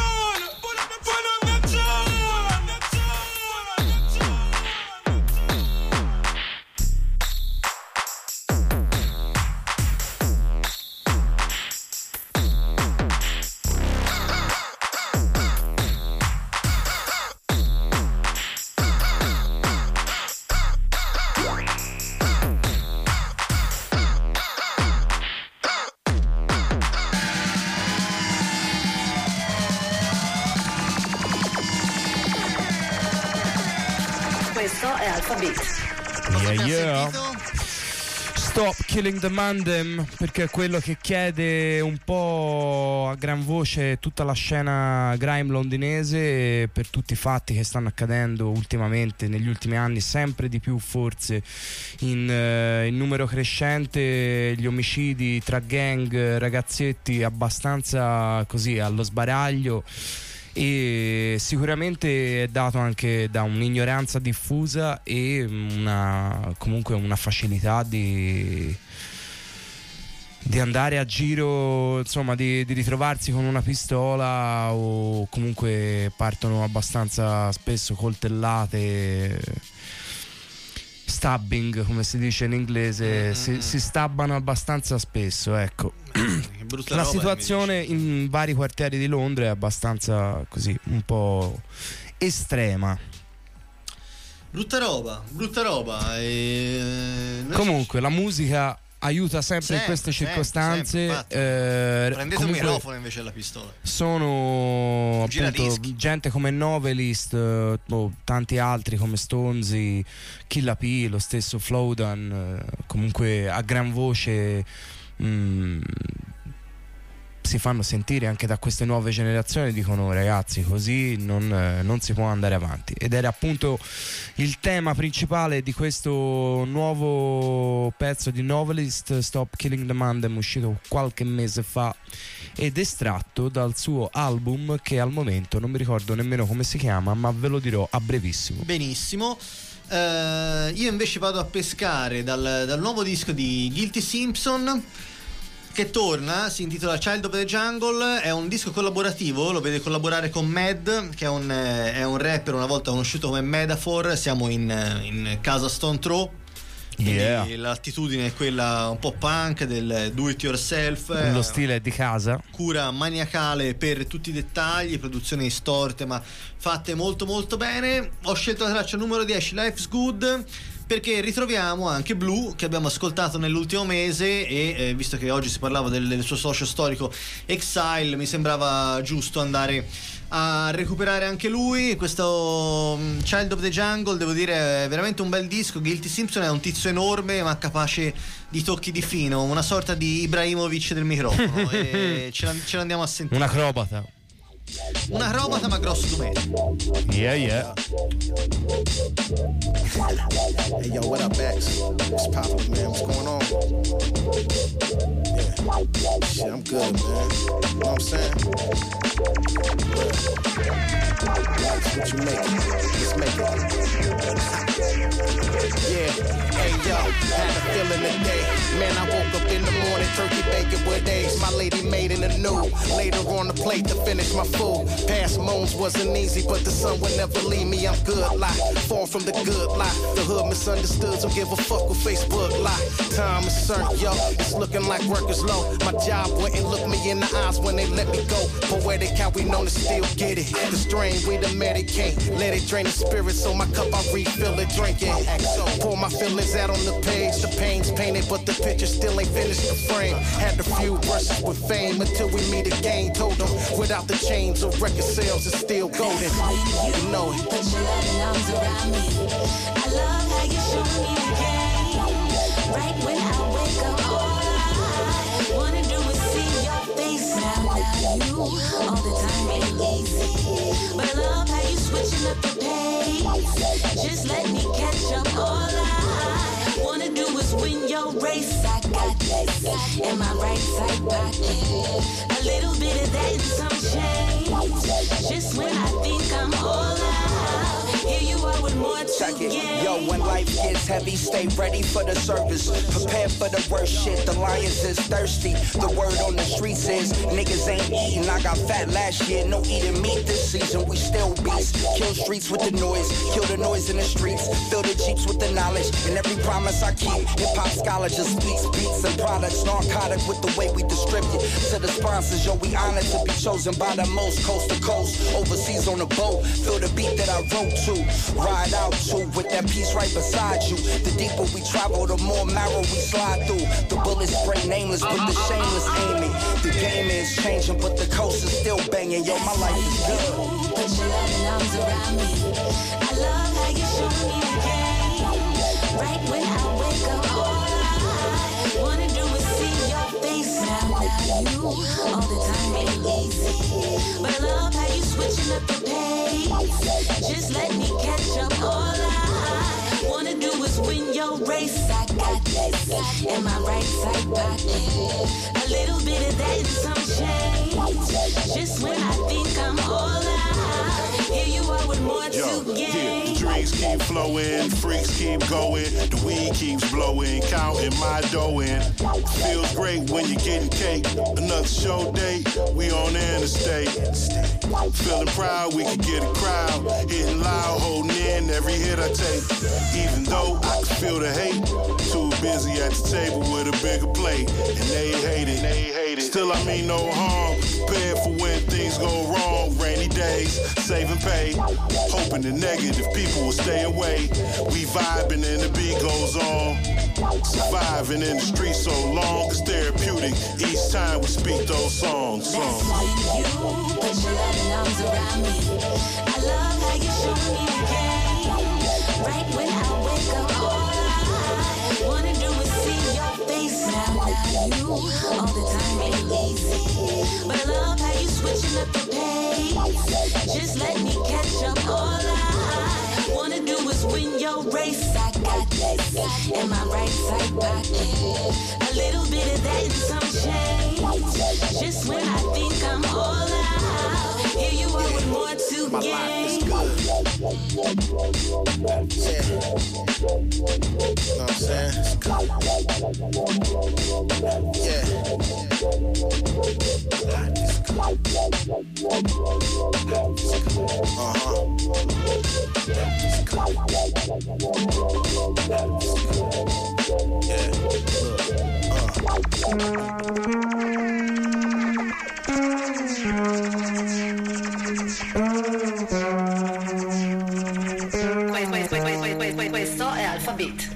Questo è Alfa Beat. Yeah, yeah. Stop killing the mandem, perché è quello che chiede un po' a gran voce tutta la scena grime londinese, per tutti i fatti che stanno accadendo ultimamente, negli ultimi anni, sempre di più forse in, uh, in numero crescente, gli omicidi tra gang, ragazzetti abbastanza così allo sbaraglio. E sicuramente è dato anche da un'ignoranza diffusa e una, comunque una facilità di, di andare a giro, insomma di, di ritrovarsi con una pistola, o comunque partono abbastanza spesso coltellate, stabbing come si dice in inglese, mm-hmm. si, si stabbano abbastanza spesso, ecco. La situazione in vari quartieri di Londra è abbastanza così, un po' estrema. Brutta roba, brutta roba. E... Comunque la musica aiuta sempre, sempre in queste sempre, circostanze. Sempre, eh, prendete un microfono invece della pistola. Sono appunto gente come Novelist, eh, oh, tanti altri come Stonesy, Killa P, lo stesso Flowdan, eh, comunque a gran voce mm, si fanno sentire anche da queste nuove generazioni, dicono ragazzi così non, eh, non si può andare avanti, ed era appunto il tema principale di questo nuovo pezzo di Novelist, Stop Killing the Mandem, uscito qualche mese fa ed estratto dal suo album che al momento non mi ricordo nemmeno come si chiama, ma ve lo dirò a brevissimo. Benissimo. Uh, io invece vado a pescare dal, dal nuovo disco di Guilty Simpson, che torna, si intitola Child of the Jungle, è un disco collaborativo, lo vede collaborare con Mad, che è un, è un rapper una volta conosciuto come Metaphor. Siamo in, in casa Stone Throw, quindi yeah. L'attitudine è quella un po' punk del do it yourself, lo stile è di casa, cura maniacale per tutti i dettagli, produzioni storte ma fatte molto molto bene. Ho scelto la traccia numero dieci, Life's Good, perché ritroviamo anche Blue, che abbiamo ascoltato nell'ultimo mese, e eh, visto che oggi si parlava del, del suo socio storico Exile, mi sembrava giusto andare a recuperare anche lui. Questo um, Child of the Jungle, devo dire, è veramente un bel disco. Guilty Simpson è un tizio enorme ma capace di tocchi di fino, una sorta di Ibrahimovic del microfono, e ce, la, ce l'andiamo a sentire. Un acrobata. Un aromata ma grosso di me. Yeah, yeah. Hey, yo, what up, X? What's poppin', man? What's going on? Yeah. Shit, I'm good, man. You know what I'm saying? That's what you make it. Let's make it. Yeah. Hey, yo, had a feeling today. Man, I woke up in the morning, turkey bacon with eggs. My lady made in the new. Later on the plate to finish my food. Past moons wasn't easy, but the sun would never leave me. I'm good, lie. Far from the good lie. The hood misunderstood, don't give a fuck with Facebook lie. Time is certain, yo. It's looking like work is low. My job wouldn't look me in the eyes when they let me go. Poetic how we known to still get it. The strain we the medicate. Let it drain the spirit, so my cup I refill it, drink it. So pour my feelings out on the page. The pain's painted, but the picture still ain't finished the frame. Had a few brushes with fame until we meet again. Told them without the chains of record sales, it's still golden. You know it. Put your loving arms around me. I love how you show me the game. Right when I wake up, all I wanna do is see your face. Now, now you all the time ain't easy, but I love how you switching up the pace. Just let me catch up. All I wanna do is win your race. I got this in my right side pocket. A little bit of that and some change. Just when I think I'm all out, here you are with more to gain. Yo, when life gets heavy, stay ready for the service. Prepare for the worst shit. The lions is thirsty. The word on the streets is niggas ain't eating. I got fat last year, no eating meat this season. We still beast. Kill streets with the noise. Kill the noise in the streets. Fill the jeeps with the knowledge. And every promise I keep. Hip hop scholar just speaks beats and products. Narcotic with the way we distribute. To the sponsors, yo, we honored to be chosen by the most coast to coast. Overseas on a boat. Feel the beat that I wrote to. Ride out to with that piece right beside you. The deeper we travel, the more marrow we slide through. The bullets spray nameless, but the shameless aiming. The game is changing, but the coast is still banging. Yo, my life is good. Put your loving arms around me. I love how you show me the game. Right when I wake up, all I wanna do is see your face. Now, now you all the time ain't easy, but I love how you switching up the pace. Just let me catch up. All I wanna do is win your race. I got this in my right side pocket. A little bit of that and some change. Just when I think I'm all out, here you are with more Yo, to gain. yeah, the drinks keep flowing, freaks keep going, the weed keeps blowing, counting my dough in. Feels great when you're getting cake. Another show date, we on the interstate. Feeling proud, we could get a crowd. Hitting loud, holding in every hit I take. Even though I can feel the hate, too busy at the table with a bigger plate. And they hate it, they hate it. Still I mean no harm, prepared for when things go wrong. Rainy days, saving pay, hoping the negative people will stay away. We vibing and the beat goes on. Surviving in the streets so long, it's therapeutic each time we speak those songs. songs. That's when you put your loving arms around me. I love how you show me the game. Right when I wake up, all I wanna do is see your face. Now, now you all the time ain't easy, but I love how you switching up the pace. Just let me catch up. All I wanna do is win your race. I got this in my right side pocket. A little bit of that and some change. Just when I think I'm all out, here you are with more to My gain. life is good. Yeah. Know what I'm saying? It's good. Yeah. Uh-huh. Yeah. Questo è Alphabet.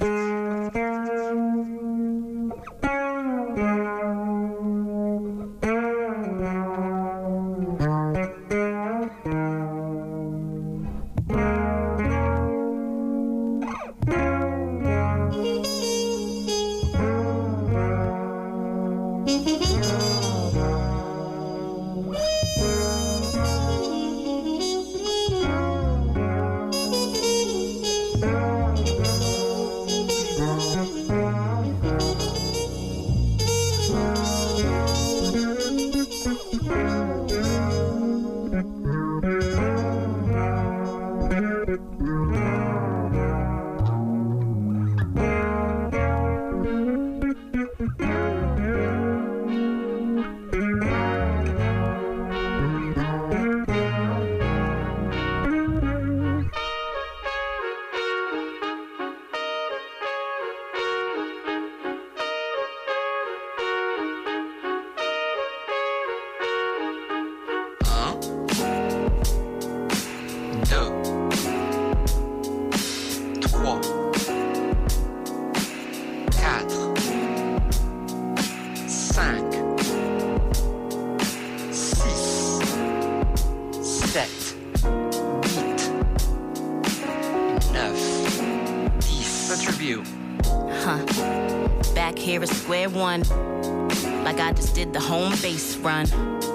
Like I just did the home base run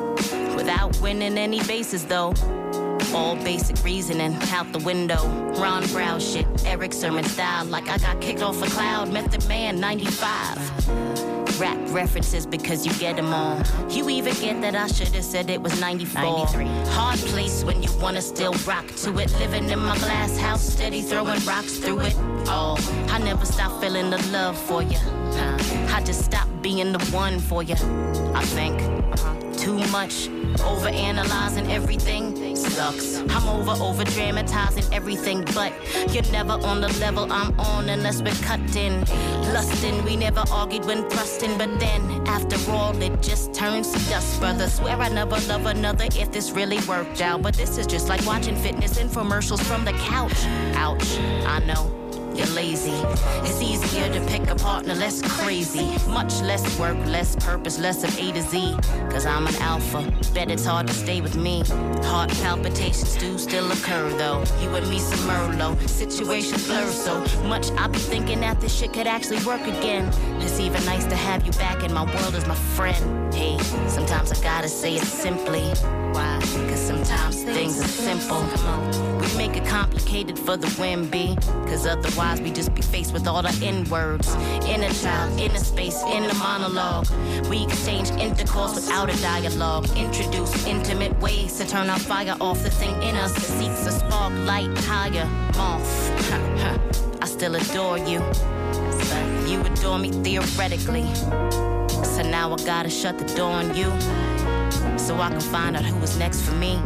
without winning any bases though. All basic reasoning out the window. Ron Brown shit, Eric Sermon style. Like I got kicked off a cloud. Method Man ninety-five. Rap references because you get them all. You even get that I should have said it was ninety-four. ninety-three. Hard place when you wanna still rock to it. Living in my glass house, steady throwing rocks through it. Oh, I never stop feeling the love for you. I just stopped being the one for you. I think too much, overanalyzing everything sucks. I'm over, over dramatizing everything, but you're never on the level I'm on unless we're cutting. Lusting, we never argued when thrusting, but then after all it just turns to dust, brother. Swear I never love another if this really worked out, but this is just like watching fitness infomercials from the couch. Ouch, I know. You're lazy. It's easier to pick a partner less crazy. Much less work, less purpose, less of A to Z. Cause I'm an alpha, bet it's hard to stay with me. Heart palpitations do still occur though. You and me some Merlot, situations blur so much I be thinking that this shit could actually work again. It's even nice to have you back in my world as my friend. Hey, sometimes I gotta say it simply. Why? Cause sometimes things are simple. We make it complicated for the win, B. Cause otherwise we just be faced with all the N-words. Inner child, inner space, inner monologue. We exchange intercourse without a dialogue. Introduce intimate ways to turn our fire off. The thing in us that seeks a spark, light, higher, moth. I still adore you, but you adore me theoretically. So now I gotta shut the door on you, so I can find out who is next for me.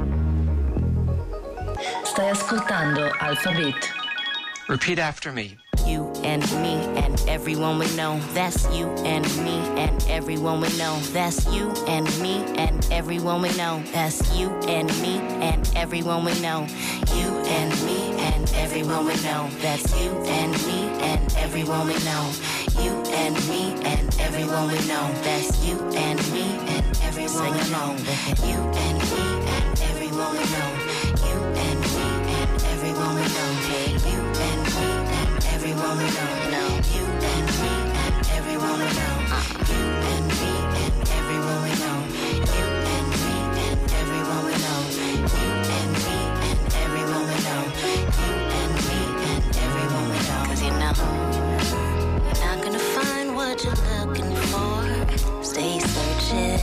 Stai ascoltando Alphabet. Repeat after me. You and me and everyone we know. That's you and me and everyone we know. That's you and me and everyone we know. That's you and me and everyone we know. You and me and everyone we know. That's you and me and everyone we know. You and me and everyone we know. That's you and me and everyone we know. You and me and everyone we know. You and me and everyone we know. You and me and everyone we know. You and me and everyone we know. You and me and everyone we know. You and me and everyone we know. You and me and everyone we know. You and me and everyone we know. 'Cause you know you're not gonna find what you're looking for. Stay searching.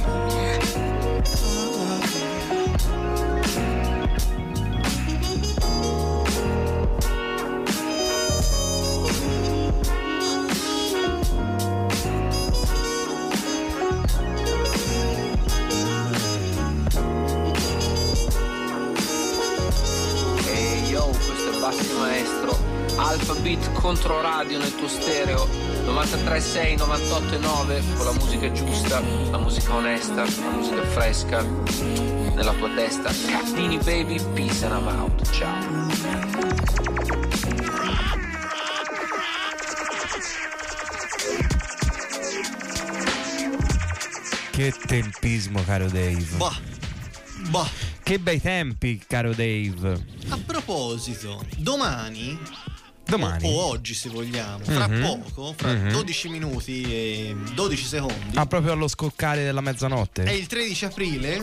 Maestro, Alphabet Controradio nel tuo stereo novantatré sei, novantotto nove, con la musica giusta, la musica onesta, la musica fresca nella tua testa. Cattini baby, peace and I'm out. Ciao. Che tempismo, caro Dave. Boh. Boh. Che bei tempi, caro Dave. A proposito, domani, domani. O, o oggi se vogliamo, fra mm-hmm. poco, fra mm-hmm. dodici minuti e dodici secondi. Ah, proprio allo scoccare della mezzanotte. È il tredici aprile.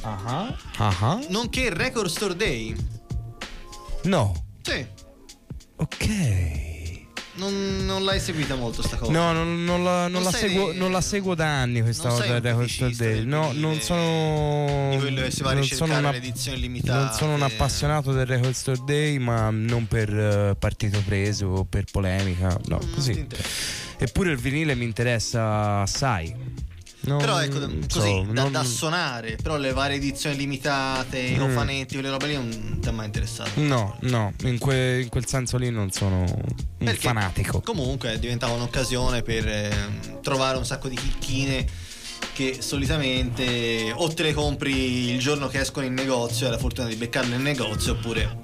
Uh-huh. Uh-huh. Nonché Record Store Day. No. Sì. ok. Non, non l'hai seguita molto sta cosa? No, non, non, la, non, Non la sei- seguo, non la seguo da anni questa non cosa sei un del Record Store feticista Day. del No, vinile, non sono. di quello che si va a non ricercare sono una- le edizioni limitate. Non sono un appassionato del Record Store Day, ma non per eh, partito preso o per polemica. No, così. Eppure il vinile mi interessa assai. Non- Però ecco, non così so, da, non- da suonare, però le varie edizioni limitate, i Mm. cofanetti, quelle robe lì non ti è mai interessato. No, no, in, que- in quel senso lì non sono un Perché fanatico. Comunque diventava un'occasione per ehm, trovare un sacco di chicchine che solitamente o te le compri il giorno che escono in negozio, hai la fortuna di beccarle in negozio, oppure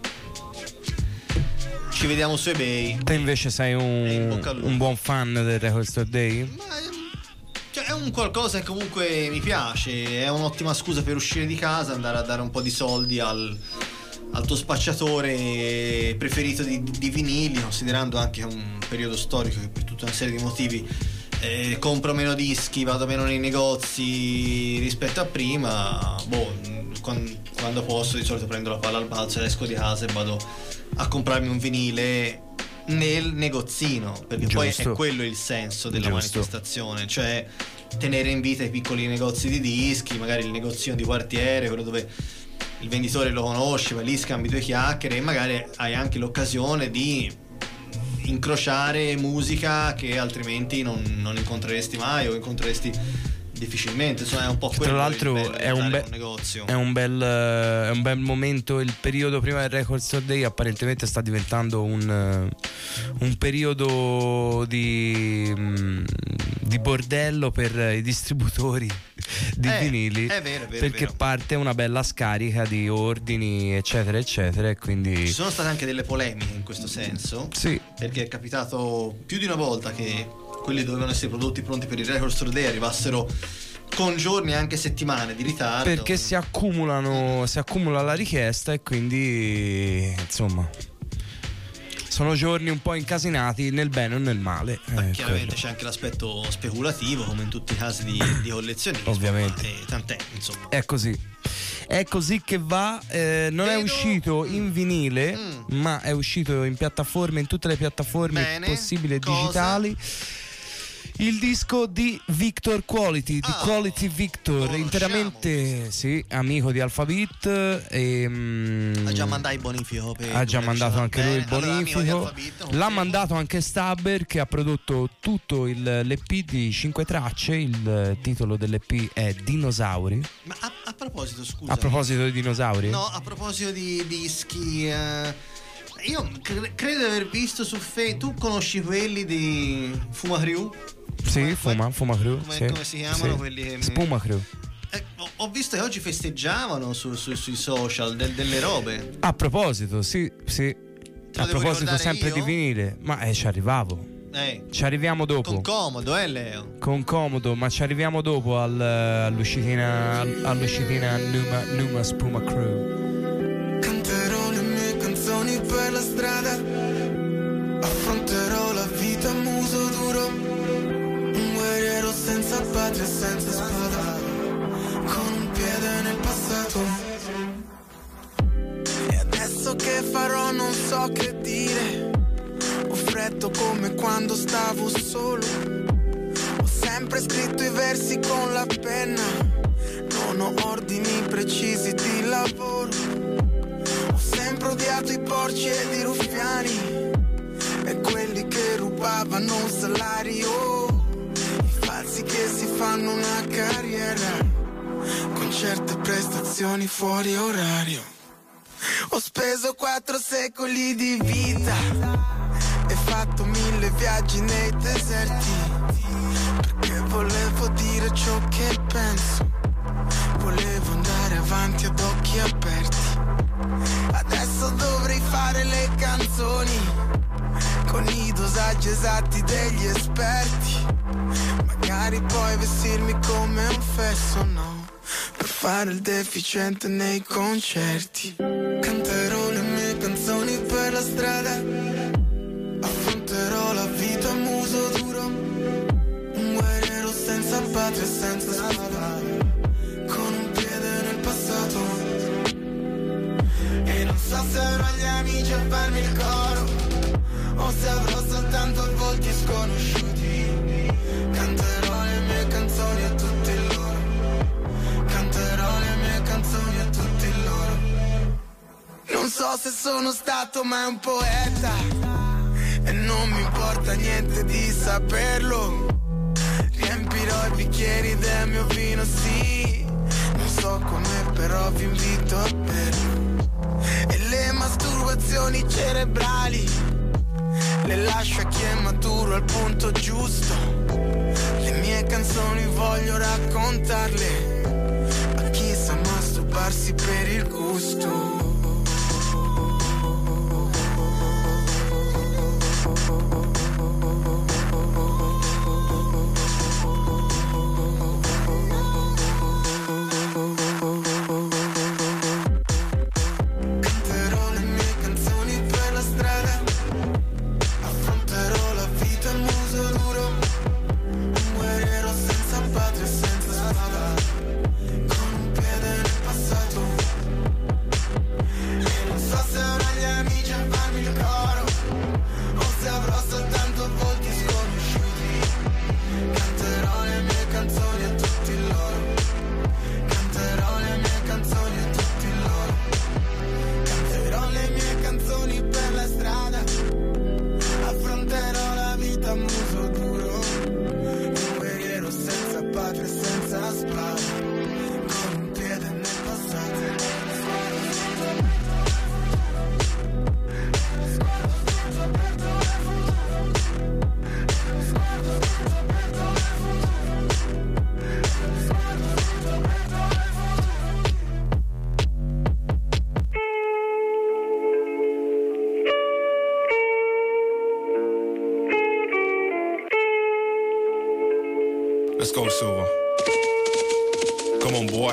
ci vediamo su eBay. Te invece sei un, un buon fan del Record Store Day? Cioè, è un qualcosa che comunque mi piace, è un'ottima scusa per uscire di casa, andare a dare un po' di soldi al, al tuo spacciatore preferito di, di vinili, considerando anche un periodo storico che per tutta una serie di motivi eh, compro meno dischi, vado meno nei negozi rispetto a prima. Boh, quando, quando posso di solito prendo la palla al balzo, esco di casa e vado a comprarmi un vinile nel negozino, perché poi Giusto. è quello il senso della Giusto. manifestazione, cioè tenere in vita i piccoli negozi di dischi, magari il negozino di quartiere, quello dove il venditore lo conosce, vai lì, scambi due chiacchiere e magari hai anche l'occasione di incrociare musica che altrimenti non, non incontreresti mai o incontreresti difficilmente. Insomma, è un po' quello Tra l'altro il bello di è un, andare be- in un negozio. è un bel eh, è un bel momento. Il periodo prima del Record Store Day apparentemente sta diventando un, eh, un periodo di, mm, di bordello per i distributori di Eh, vinili, è vero, è vero, è perché vero. parte una bella scarica di ordini eccetera eccetera e quindi Ci sono state anche delle polemiche in questo senso. Sì. Perché è capitato più di una volta che quelli dovevano essere prodotti pronti per il Record Store Day arrivassero con giorni, anche settimane di ritardo. perché si accumulano si accumula la richiesta e quindi insomma sono giorni un po' incasinati nel bene o nel male. Beh, eh, chiaramente quello. c'è anche l'aspetto speculativo, come in tutti i casi di, di collezionismo. Ovviamente. ma, eh, tant'è, insomma. È così. È così che va. eh, non è uscito in vinile, ma è uscito in piattaforme, in tutte le piattaforme Bene. possibili e Cosa? digitali. Il disco di Victor Quality, di Ah, Quality Victor, interamente sì, amico di Alphabet. E, mm, Ha già mandato il bonifico. Per ha già mandato anche lui il Bene, allora, amico di bonifico. Alphabet, L'ha mandato anche Stabber, che ha prodotto tutto il, l'E P di cinque tracce. Il titolo dell'E P è Dinosauri. Ma a, a proposito, scusa. A proposito di dinosauri? No, a proposito di dischi. eh, io cre- credo di aver visto su Facebook. Tu conosci quelli di Fuma Crew? Sì, Fuma, Fuma Crew. Come, sì, come si chiamano sì. quelli che mi- Spuma Crew. Eh, ho, ho visto che oggi festeggiavano su- su- sui social del- delle robe. A proposito, sì, sì. lo A devo proposito ricordare sempre io? di vinile. Ma eh, ci arrivavo. Eh, Ci arriviamo dopo. con comodo, eh, Leo? Con comodo, ma ci arriviamo dopo al- all'uscitina all'uscitina Numa, Numa Spuma Crew. Canterò le mie canzoni per la strada, affronterò la vita a muso duro, un guerriero senza patria e senza spada, con un piede nel passato. E adesso che farò non so che dire, ho freddo come quando stavo solo, ho sempre scritto i versi con la penna, non ho ordini precisi di lavoro, ho sempre odiato i porci ed i ruffiani e quelli che rubavano un salario, i falsi che si fanno una carriera con certe prestazioni fuori orario. Ho speso quattro secoli di vita e fatto mille viaggi nei deserti, perché volevo dire ciò che penso, volevo andare avanti ad occhi aperti. Adesso dovrei fare le canzoni con i dosaggi esatti degli esperti, magari poi vestirmi come un fesso, no, per fare il deficiente nei concerti. Canterò le mie canzoni per la strada, affronterò la vita a muso duro, un guerriero senza patria e senza spada, con un piede nel passato. E non so se avrò gli amici a farmi il coro, o se avrò soltanto volti sconosciuti. Canterò le mie canzoni a tutti loro, canterò le mie canzoni a tutti loro. Non so se sono stato mai un poeta e non mi importa niente di saperlo. Riempirò i bicchieri del mio vino, sì, non so come però vi invito a berlo. E le masturbazioni cerebrali le lascio a chi è maturo al punto giusto. Le mie canzoni voglio raccontarle a chi sa masturbarsi per il gusto. Let's go, Silver. Come on, boy.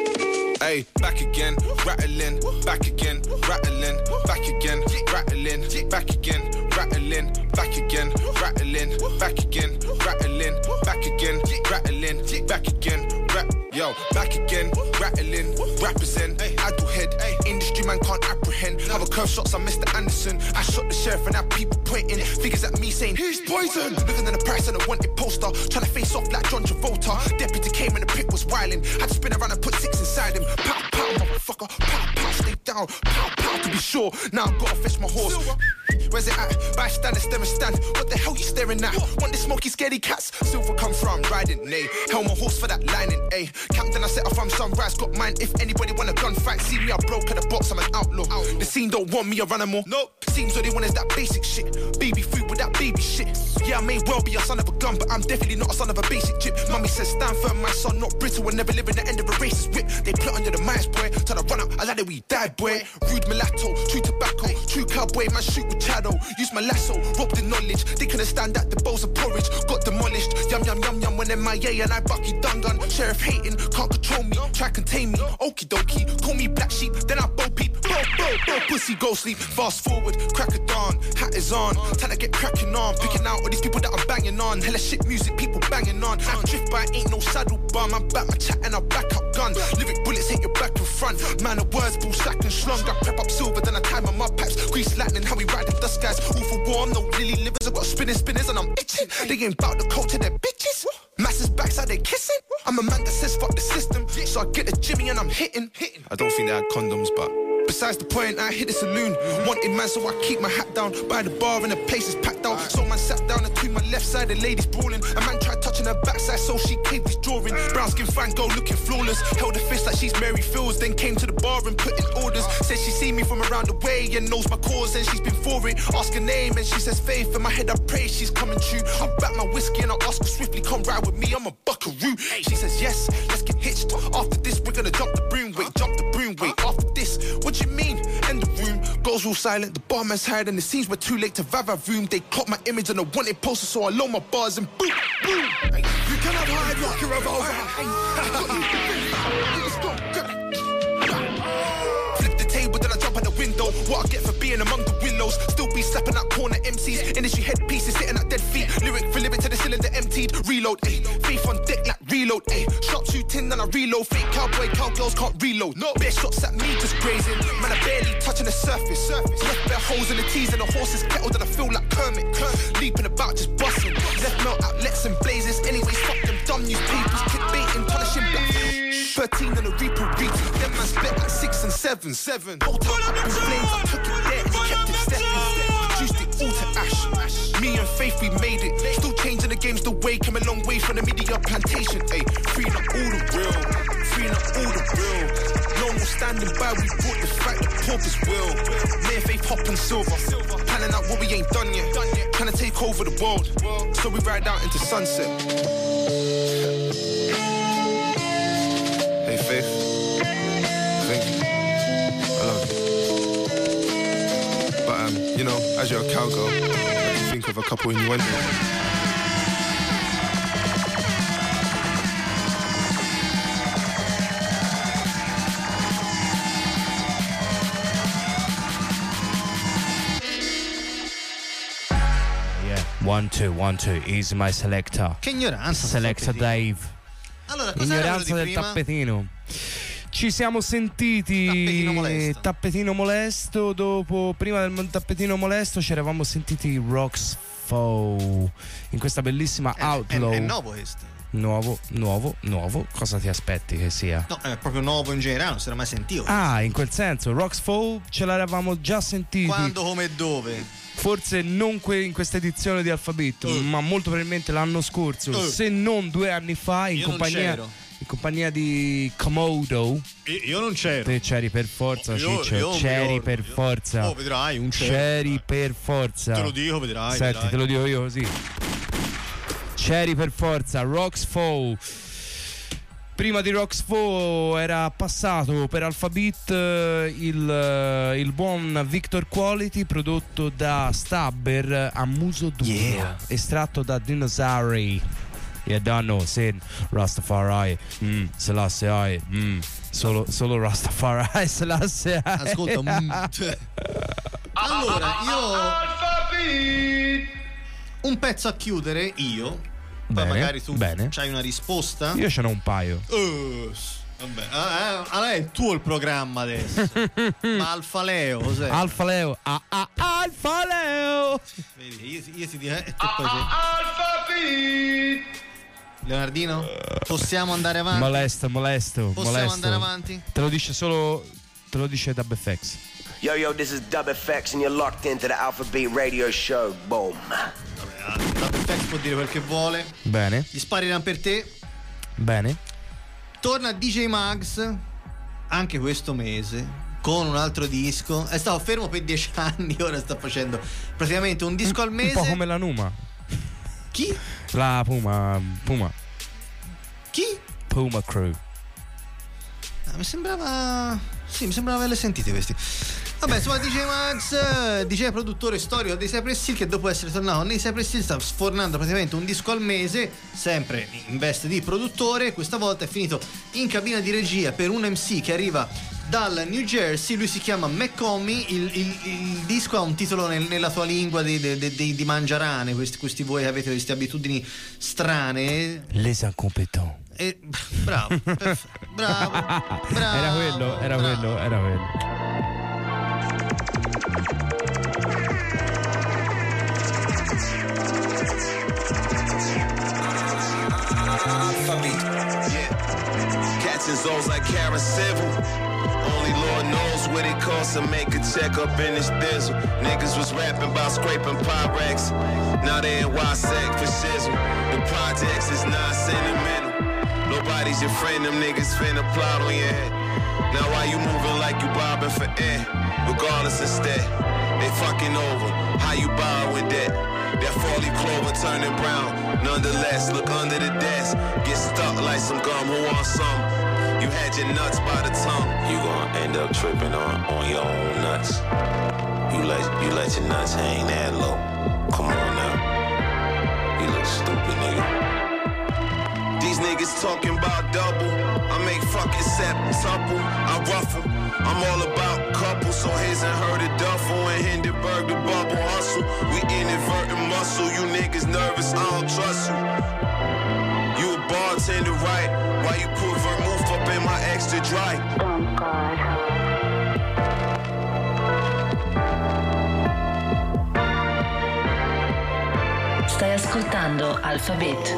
Hey, back again, rattling, back again, rattling, back again, rattling, back again, rattling, back again, rattling, back again, rattling, back again, rattling, back again, rap, yo, back again, rattling, represent, idle head, industry man can't apprehend. Other curve shots on Mister Anderson. I shot the sheriff and now people pointing figures at me saying he's poison. Living in the price and a wanted poster, trying to face off like John Travolta. Deputy came and the pit was wilding. Had to spin around and put six inside him. Pow pow, motherfucker, pow pow, stay down, pow pow to be sure. Now I've gotta fetch my horse. Where's it at? Bystander, stare and stand. What the hell you staring at? Want the smoky, scaredy cats? Silver come from riding, nay. Hell my horse for that lining, ayy. Captain, I set off from sunrise, got mine. If anybody want a gunfight, see me, I broke at the box, I'm an outlaw. The scene don't want me a animal. Nope. Seems all they want is that basic shit. Baby food with that baby shit. Yeah, I may well be a son of a gun, but I'm definitely not a son of a basic chip. Mummy says, stand firm, my son, not brittle, and never live in the end of a racist whip. They plot under the mice, boy. Try to run out, I like it, we die, boy. Rude mulatto, true tobacco, true cowboy, man, shoot with shadow. Use my lasso, rob the knowledge. They couldn't stand that, the bowls of porridge got demolished. Yum, yum, yum, yum, when M I A and I Bucky Dungan. Sheriff hating, can't control me, try contain me. Okie dokie, call me black sheep, then I bo peep. Bo, bo, bo, pussy, go sleep. Fast forward, crack a dawn, hat is on. Time to get cracking on, picking out all these people that I'm banging on. Hella shit music, people banging on. I drift by, ain't no saddle bar. I'm back my chat and I back up gun. Lyric bullets hit your back and front. Man of words, bull slack and slung. I prep up silver, then I tie my mud pipes. Grease lightning, how we ride them dust guys. All for war, I'm no lily livers. I got spinning spinners and I'm itching. They ain't bout the culture, they're bitches. Masses backside, they kissing. I'm a man that says fuck the system. So I get a Jimmy and I'm hitting. I don't think they had condoms, but besides the point, I hit the saloon. Wanted man, so I keep my hat down. By the bar and the place is packed out. So man sat down and between my left side, the ladies brawling. A man tried touching her backside, so she caved his drawing. Brown skin Van Gogh looking flawless. Held a fist like she's Mary Fields. Then came to the bar and put in orders. Said she see me from around the way and knows my cause and she's been for it. Ask her name and she says Faith. In my head I pray she's coming true. I wrap my whiskey and I ask her swiftly, come ride with me, I'm a buckaroo. She says yes, let's get hitched. After this we're gonna jump the broom. Wait, jump the broom, wait, after this, what you mean? In the room, girls all silent, the barman's hired and it seems we're too late to vava room. They clock my image on a wanted poster, so I load my bars and boom, boom. You cannot hide like a revolver. Flip the table, then I jump out the window. What I get for being among the willows. Still be slapping out corner M Cs. Industry headpieces sitting at dead feet. Lyric for lyric to the cylinder emptied. Reload, ayy. Faith on deck like reload. reload. Ayy, shot two tin, then I reload. Fake cowboy, cowgirls can't reload. No, bare shots at me just grazing. Man, I barely touching the surface. surface. Left bare holes in the T's and the horses kettled, and I feel like Kermit. Kermit. Leaping about, just busting. Left melt outlets and blazes. Anyways, fuck them dumb newspapers. Clickbaiting, punishing black. thirteen and a Reaper reach. Them man split like six and seven. Seven. Whole time up in flames, I took it there and he kept it stepping. Reduced it all to ash. Me and Faith, we made it. Still changing the games the way. Came a long way from the media plantation. Ayy, freeing up all the real. Freeing up all the real. No more standing by, we brought the fact the porpoise will. Me and Faith hop and silver. Planning out what we ain't done yet. Trying to take over the world. So we ride out into sunset. Hey Faith, thank you. I love you. But um, you know, as you're a cowgirl, I can think of a couple innuendos. One, two, one, two, easy my selector. Che ignoranza. Selector Dave. Allora, cosa ignoranza del prima? tappetino. Ci siamo sentiti Tappetino molesto. Tappetino molesto. Dopo, prima del tappetino molesto, ci eravamo sentiti Rocks Foe in questa bellissima È, Outlaw. è, è nuovo questo. Nuovo, nuovo, nuovo. Cosa ti aspetti che sia? No, è proprio nuovo in generale, non si era mai sentito. Ah, in quel senso, Rocks Foe ce l'eravamo già sentiti. Quando, come e dove? Forse non que- in questa edizione di Alfabetto, uh. ma molto probabilmente l'anno scorso, uh. se non due anni fa, in Io compagnia, in compagnia di Komodo. Io, io non c'ero. Te c'eri per forza, io, Ciccio. io c'eri per io, forza. Oh, vedrai, un c'ero. C'eri per forza. Te lo dico, vedrai. Senti, vedrai. te lo dico io così. C'eri per forza, Rocks Foe. Prima di Rocks Foe era passato per Alphabet il, il buon Victor Quality prodotto da Stabber a muso duro, yeah. Estratto da Dinosauri. Yeah, danno, Sin, Rastafari, mm, Selassie, mm, solo, solo Rastafari, Selassie. Ascolta, mm, cioè. Allora, io un pezzo a chiudere, io. Poi Bene, magari tu bene. c'hai una risposta. Io ce n'ho un paio. Uh, vabbè, ah, ah, allora è il tuo il programma adesso. Ma Alfa Leo cos'è? Alfa Leo, ah, ah, Alfa Leo. Vedi, io, io ti dico, e te poi sei... Leonardino, possiamo andare avanti? Molesto, molesto, Possiamo molesto. andare avanti? Te lo dice solo, te lo dice Dub F X. Yo, yo, this is Dub F X and you're locked into the Alphabet Radio Show. Boom. Dub F X può dire quel che vuole. Bene. Gli spariranno per te. Bene. Torna D J Mags anche questo mese con un altro disco. È stato fermo per dieci anni, ora sta facendo praticamente un disco al mese. Un po' come la Numa. Chi? La Puma. Puma. Chi? Puma Crew. Ah, mi sembrava. Sì, mi sembrava averle sentite questi. Vabbè, insomma, D J Max, D J produttore storico dei Cypress Hill, che dopo essere tornato nei Cypress Hill sta sfornando praticamente un disco al mese, sempre in veste di produttore. Questa volta è finito in cabina di regia per un M C che arriva dal New Jersey. Lui si chiama McCommy. Il, il, il disco ha un titolo nel, nella tua lingua di, di, di, di mangiarane, questi, questi voi che avete queste abitudini strane. Les incompetents. E, bravo, perf- bravo, bravo. Era quello, era bravo. quello, era quello. Cats and zones like Karen Civil. Only Lord knows what it costs to make a check up in this diesel. Niggas was rapping about scraping Pyrex. Now they in Y-Sec for shizzle. The projects is not sentimental. Nobody's your friend, them niggas finna plot on your head. Now why you moving like you bobbing for air? Regardless instead, they fucking over. How you borrowing debt? That four-leaf clover turning brown. Nonetheless, look under the desk. Get stuck like some gum, who wants some? You had your nuts by the tongue. You gon' end up tripping on, on your own nuts. You let, you let your nuts hang that low. Come on now. You look stupid, nigga. These niggas talking about double. I make fucking septuple. I ruffle. I'm all about couple. So his and her the duffel and Hindenburg the bubble hustle. We inadvertent muscle. You niggas nervous. I don't trust you. You a bartender right. Why you put vermouth up in my extra dry? Oh God. Stai ascoltando Alphabet.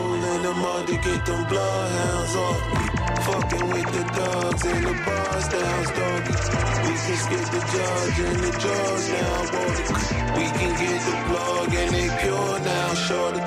Fucking with the dogs in the bars, the house doggy. We can skip the judge and the drugs now, boy. We can get the plug and they pure now, shorty.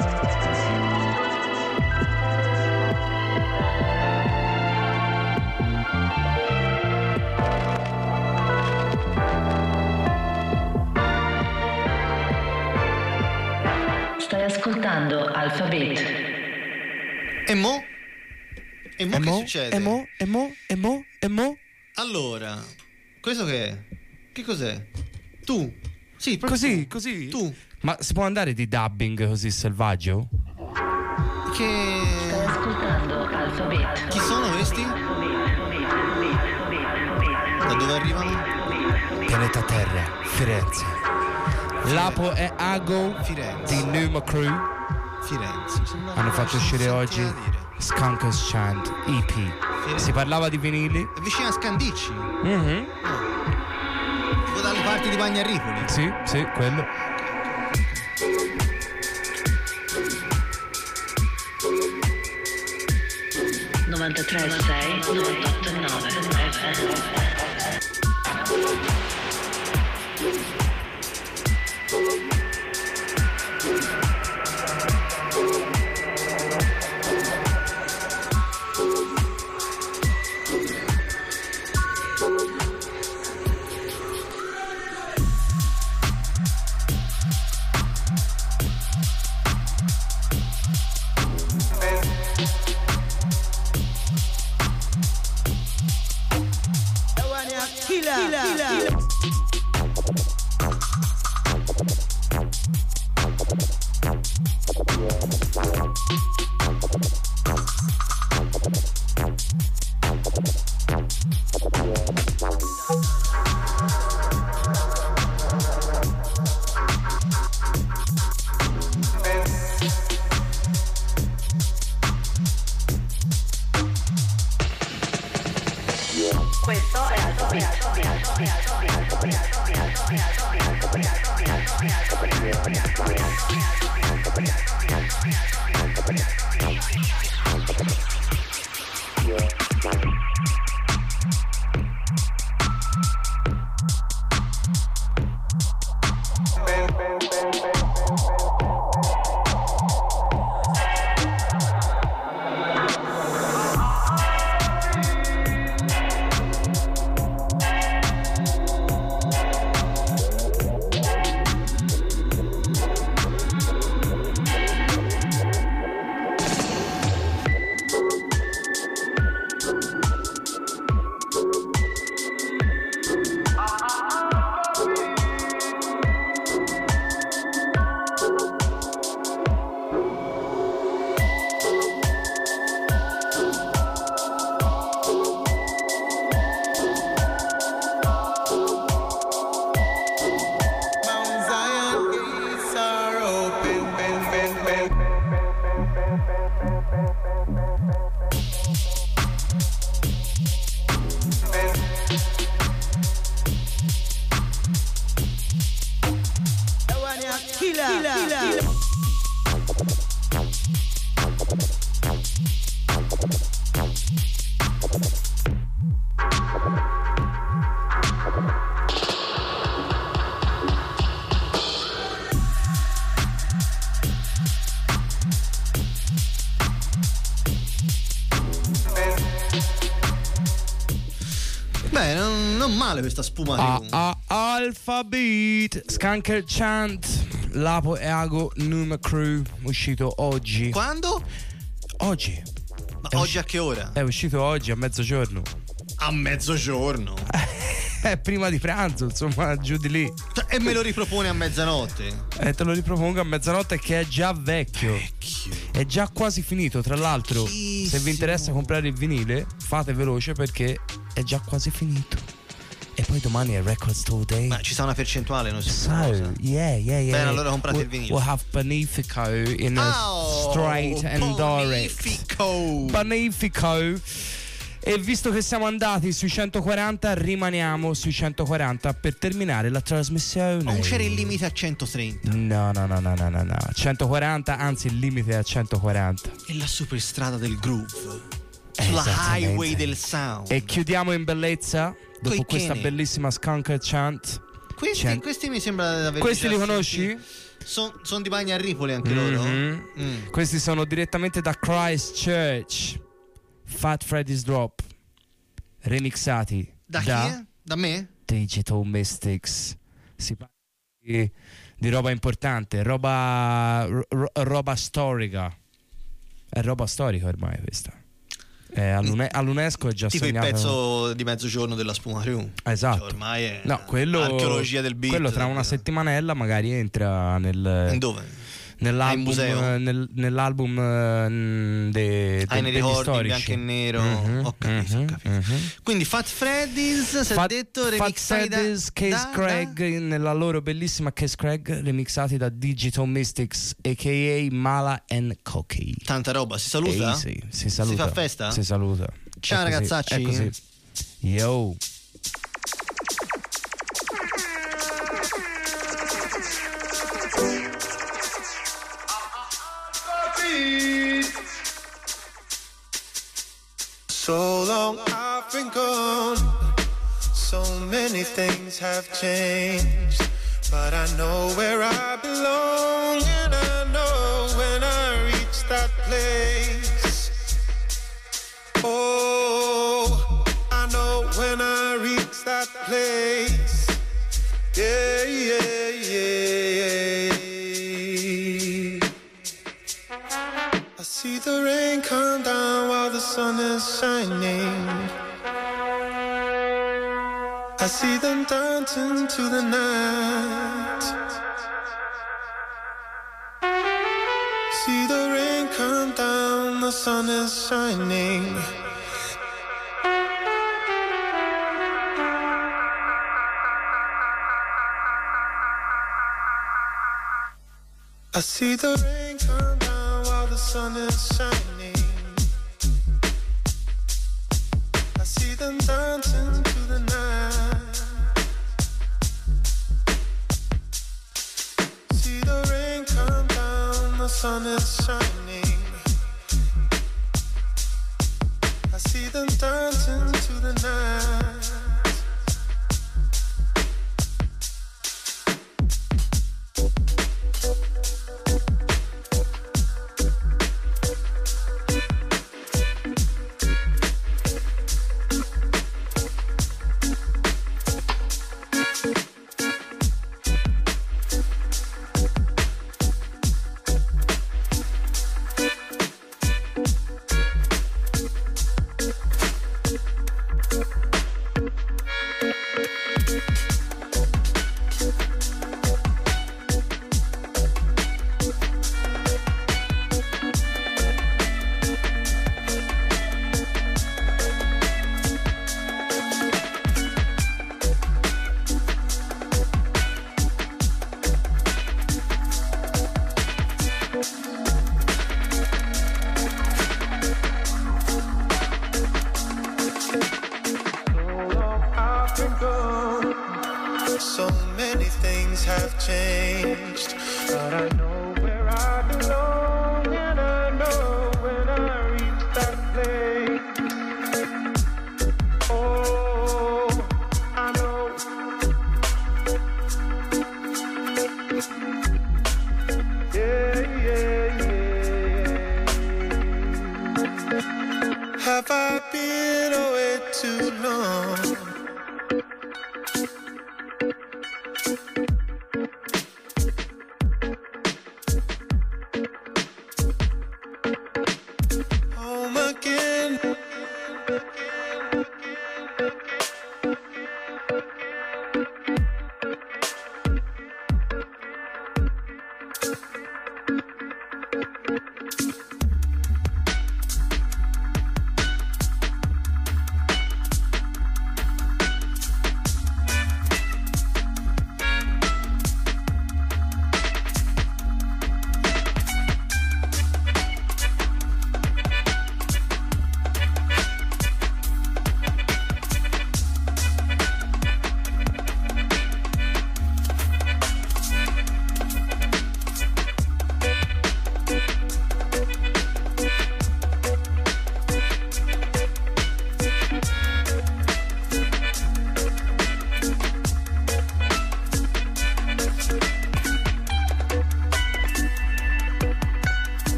Stai ascoltando Alphabet. E mo? E mo e che mo? succede? E mo? E mo? E mo? E mo? Allora, questo che è? Che cos'è? Tu? Sì, proprio Così, tu. così. Tu? Ma si può andare di dubbing così selvaggio? Che... Stai ascoltando Alphabet. Chi sono questi? Da dove arrivano? Pianeta Terra, Firenze. Lapo e Ago Firenze. di Numa Crew Firenze. hanno fatto uscire oggi Skunkers Chant E P. Si parlava di vinili. È vicino a Scandicci. Mm-hmm. Oh. Tipo dalle parti di Bagnaripoli. Sì, sì, quello. novantatré sei novantotto nove F M. Questo è Beh, non, non male questa spuma. Ah, ah, Alphabet, Skunker Chant, Lapo e Ago, Numa Crew, uscito oggi. Quando? Oggi. Ma È oggi usci- a che ora? È uscito oggi a mezzogiorno. A mezzogiorno? È prima di pranzo, insomma, giù di lì. E me lo ripropone a mezzanotte? E te lo ripropongo a mezzanotte, che è già vecchio. Vecchio. È già quasi finito. Tra l'altro, se vi interessa comprare il vinile, fate veloce perché è già quasi finito. E poi domani è Record Store Day. Ma ci sta una percentuale, non si So, yeah, yeah, yeah. Bene, allora comprate we'll, il vinile. We'll have Bonifico in a Oh, straight and direct. Bonifico. Bonifico. E visto che siamo andati sui centoquaranta, rimaniamo sui centoquaranta per terminare la trasmissione. Non c'era il limite a centotrenta. No, no, no, no, no, no, no. centoquaranta, anzi il limite è a centoquaranta. È la superstrada del groove. Sulla highway del sound. E chiudiamo in bellezza dopo Coi questa Kenny. bellissima Skunk Chant. Questi, Cent- questi mi sembra di aver Questi già li conosci? sentiti. Son, son di Bagna a Ripoli anche loro? Mhm. Mm. Questi sono direttamente da Christchurch. Fat Freddy's Drop, remixati Da chi è? Da me? Digital Mystics. Si parla di, di roba importante, roba ro- roba storica. È roba storica ormai questa. È all'UNE- all'UNESCO è già Tipo segnato. il pezzo di mezzogiorno della Spuma Crew. Esatto. Cioè, ormai è No, quello, archeologia del beat. quello tra una settimanella magari entra nel. In dove? Nell'album, museo? nel, nell'album uh, de, Ah, de, nei degli ricordi, storici. bianco e nero. Mhm, Ho capito, mhm, ho capito. mhm. Quindi Fat Freddy's, si è Fat, detto, Fat remixati da, Freddy's, Case da- Craig nella loro bellissima Case Craig, remixati da Digital Mystics a k a. Mala and Cocky. Tanta roba, si saluta? Ehi, sì, si saluta. Si fa festa? Si saluta. Ciao, È così, ragazzacci. è così. Yo. So long I've been gone, so many things have changed, but I know where I belong, and I know when I reach that place. Oh, I know when I reach that place. Yeah, yeah, yeah. I see the rain come down while the sun is shining. I see them dancing to the night. See the rain come down, the sun is shining. I see the rain come down while the sun is shining. I see them dancing to the night. See the rain come down, the sun is shining. I see them dancing to the night. So many things have changed, but I know where I belong, and I know when I reach that place. Oh, I know. Yeah, yeah, yeah. Have I been away too long? Home again.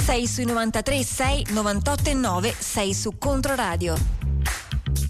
sei sui novantatré sei, novantotto e nove, sei su Controradio.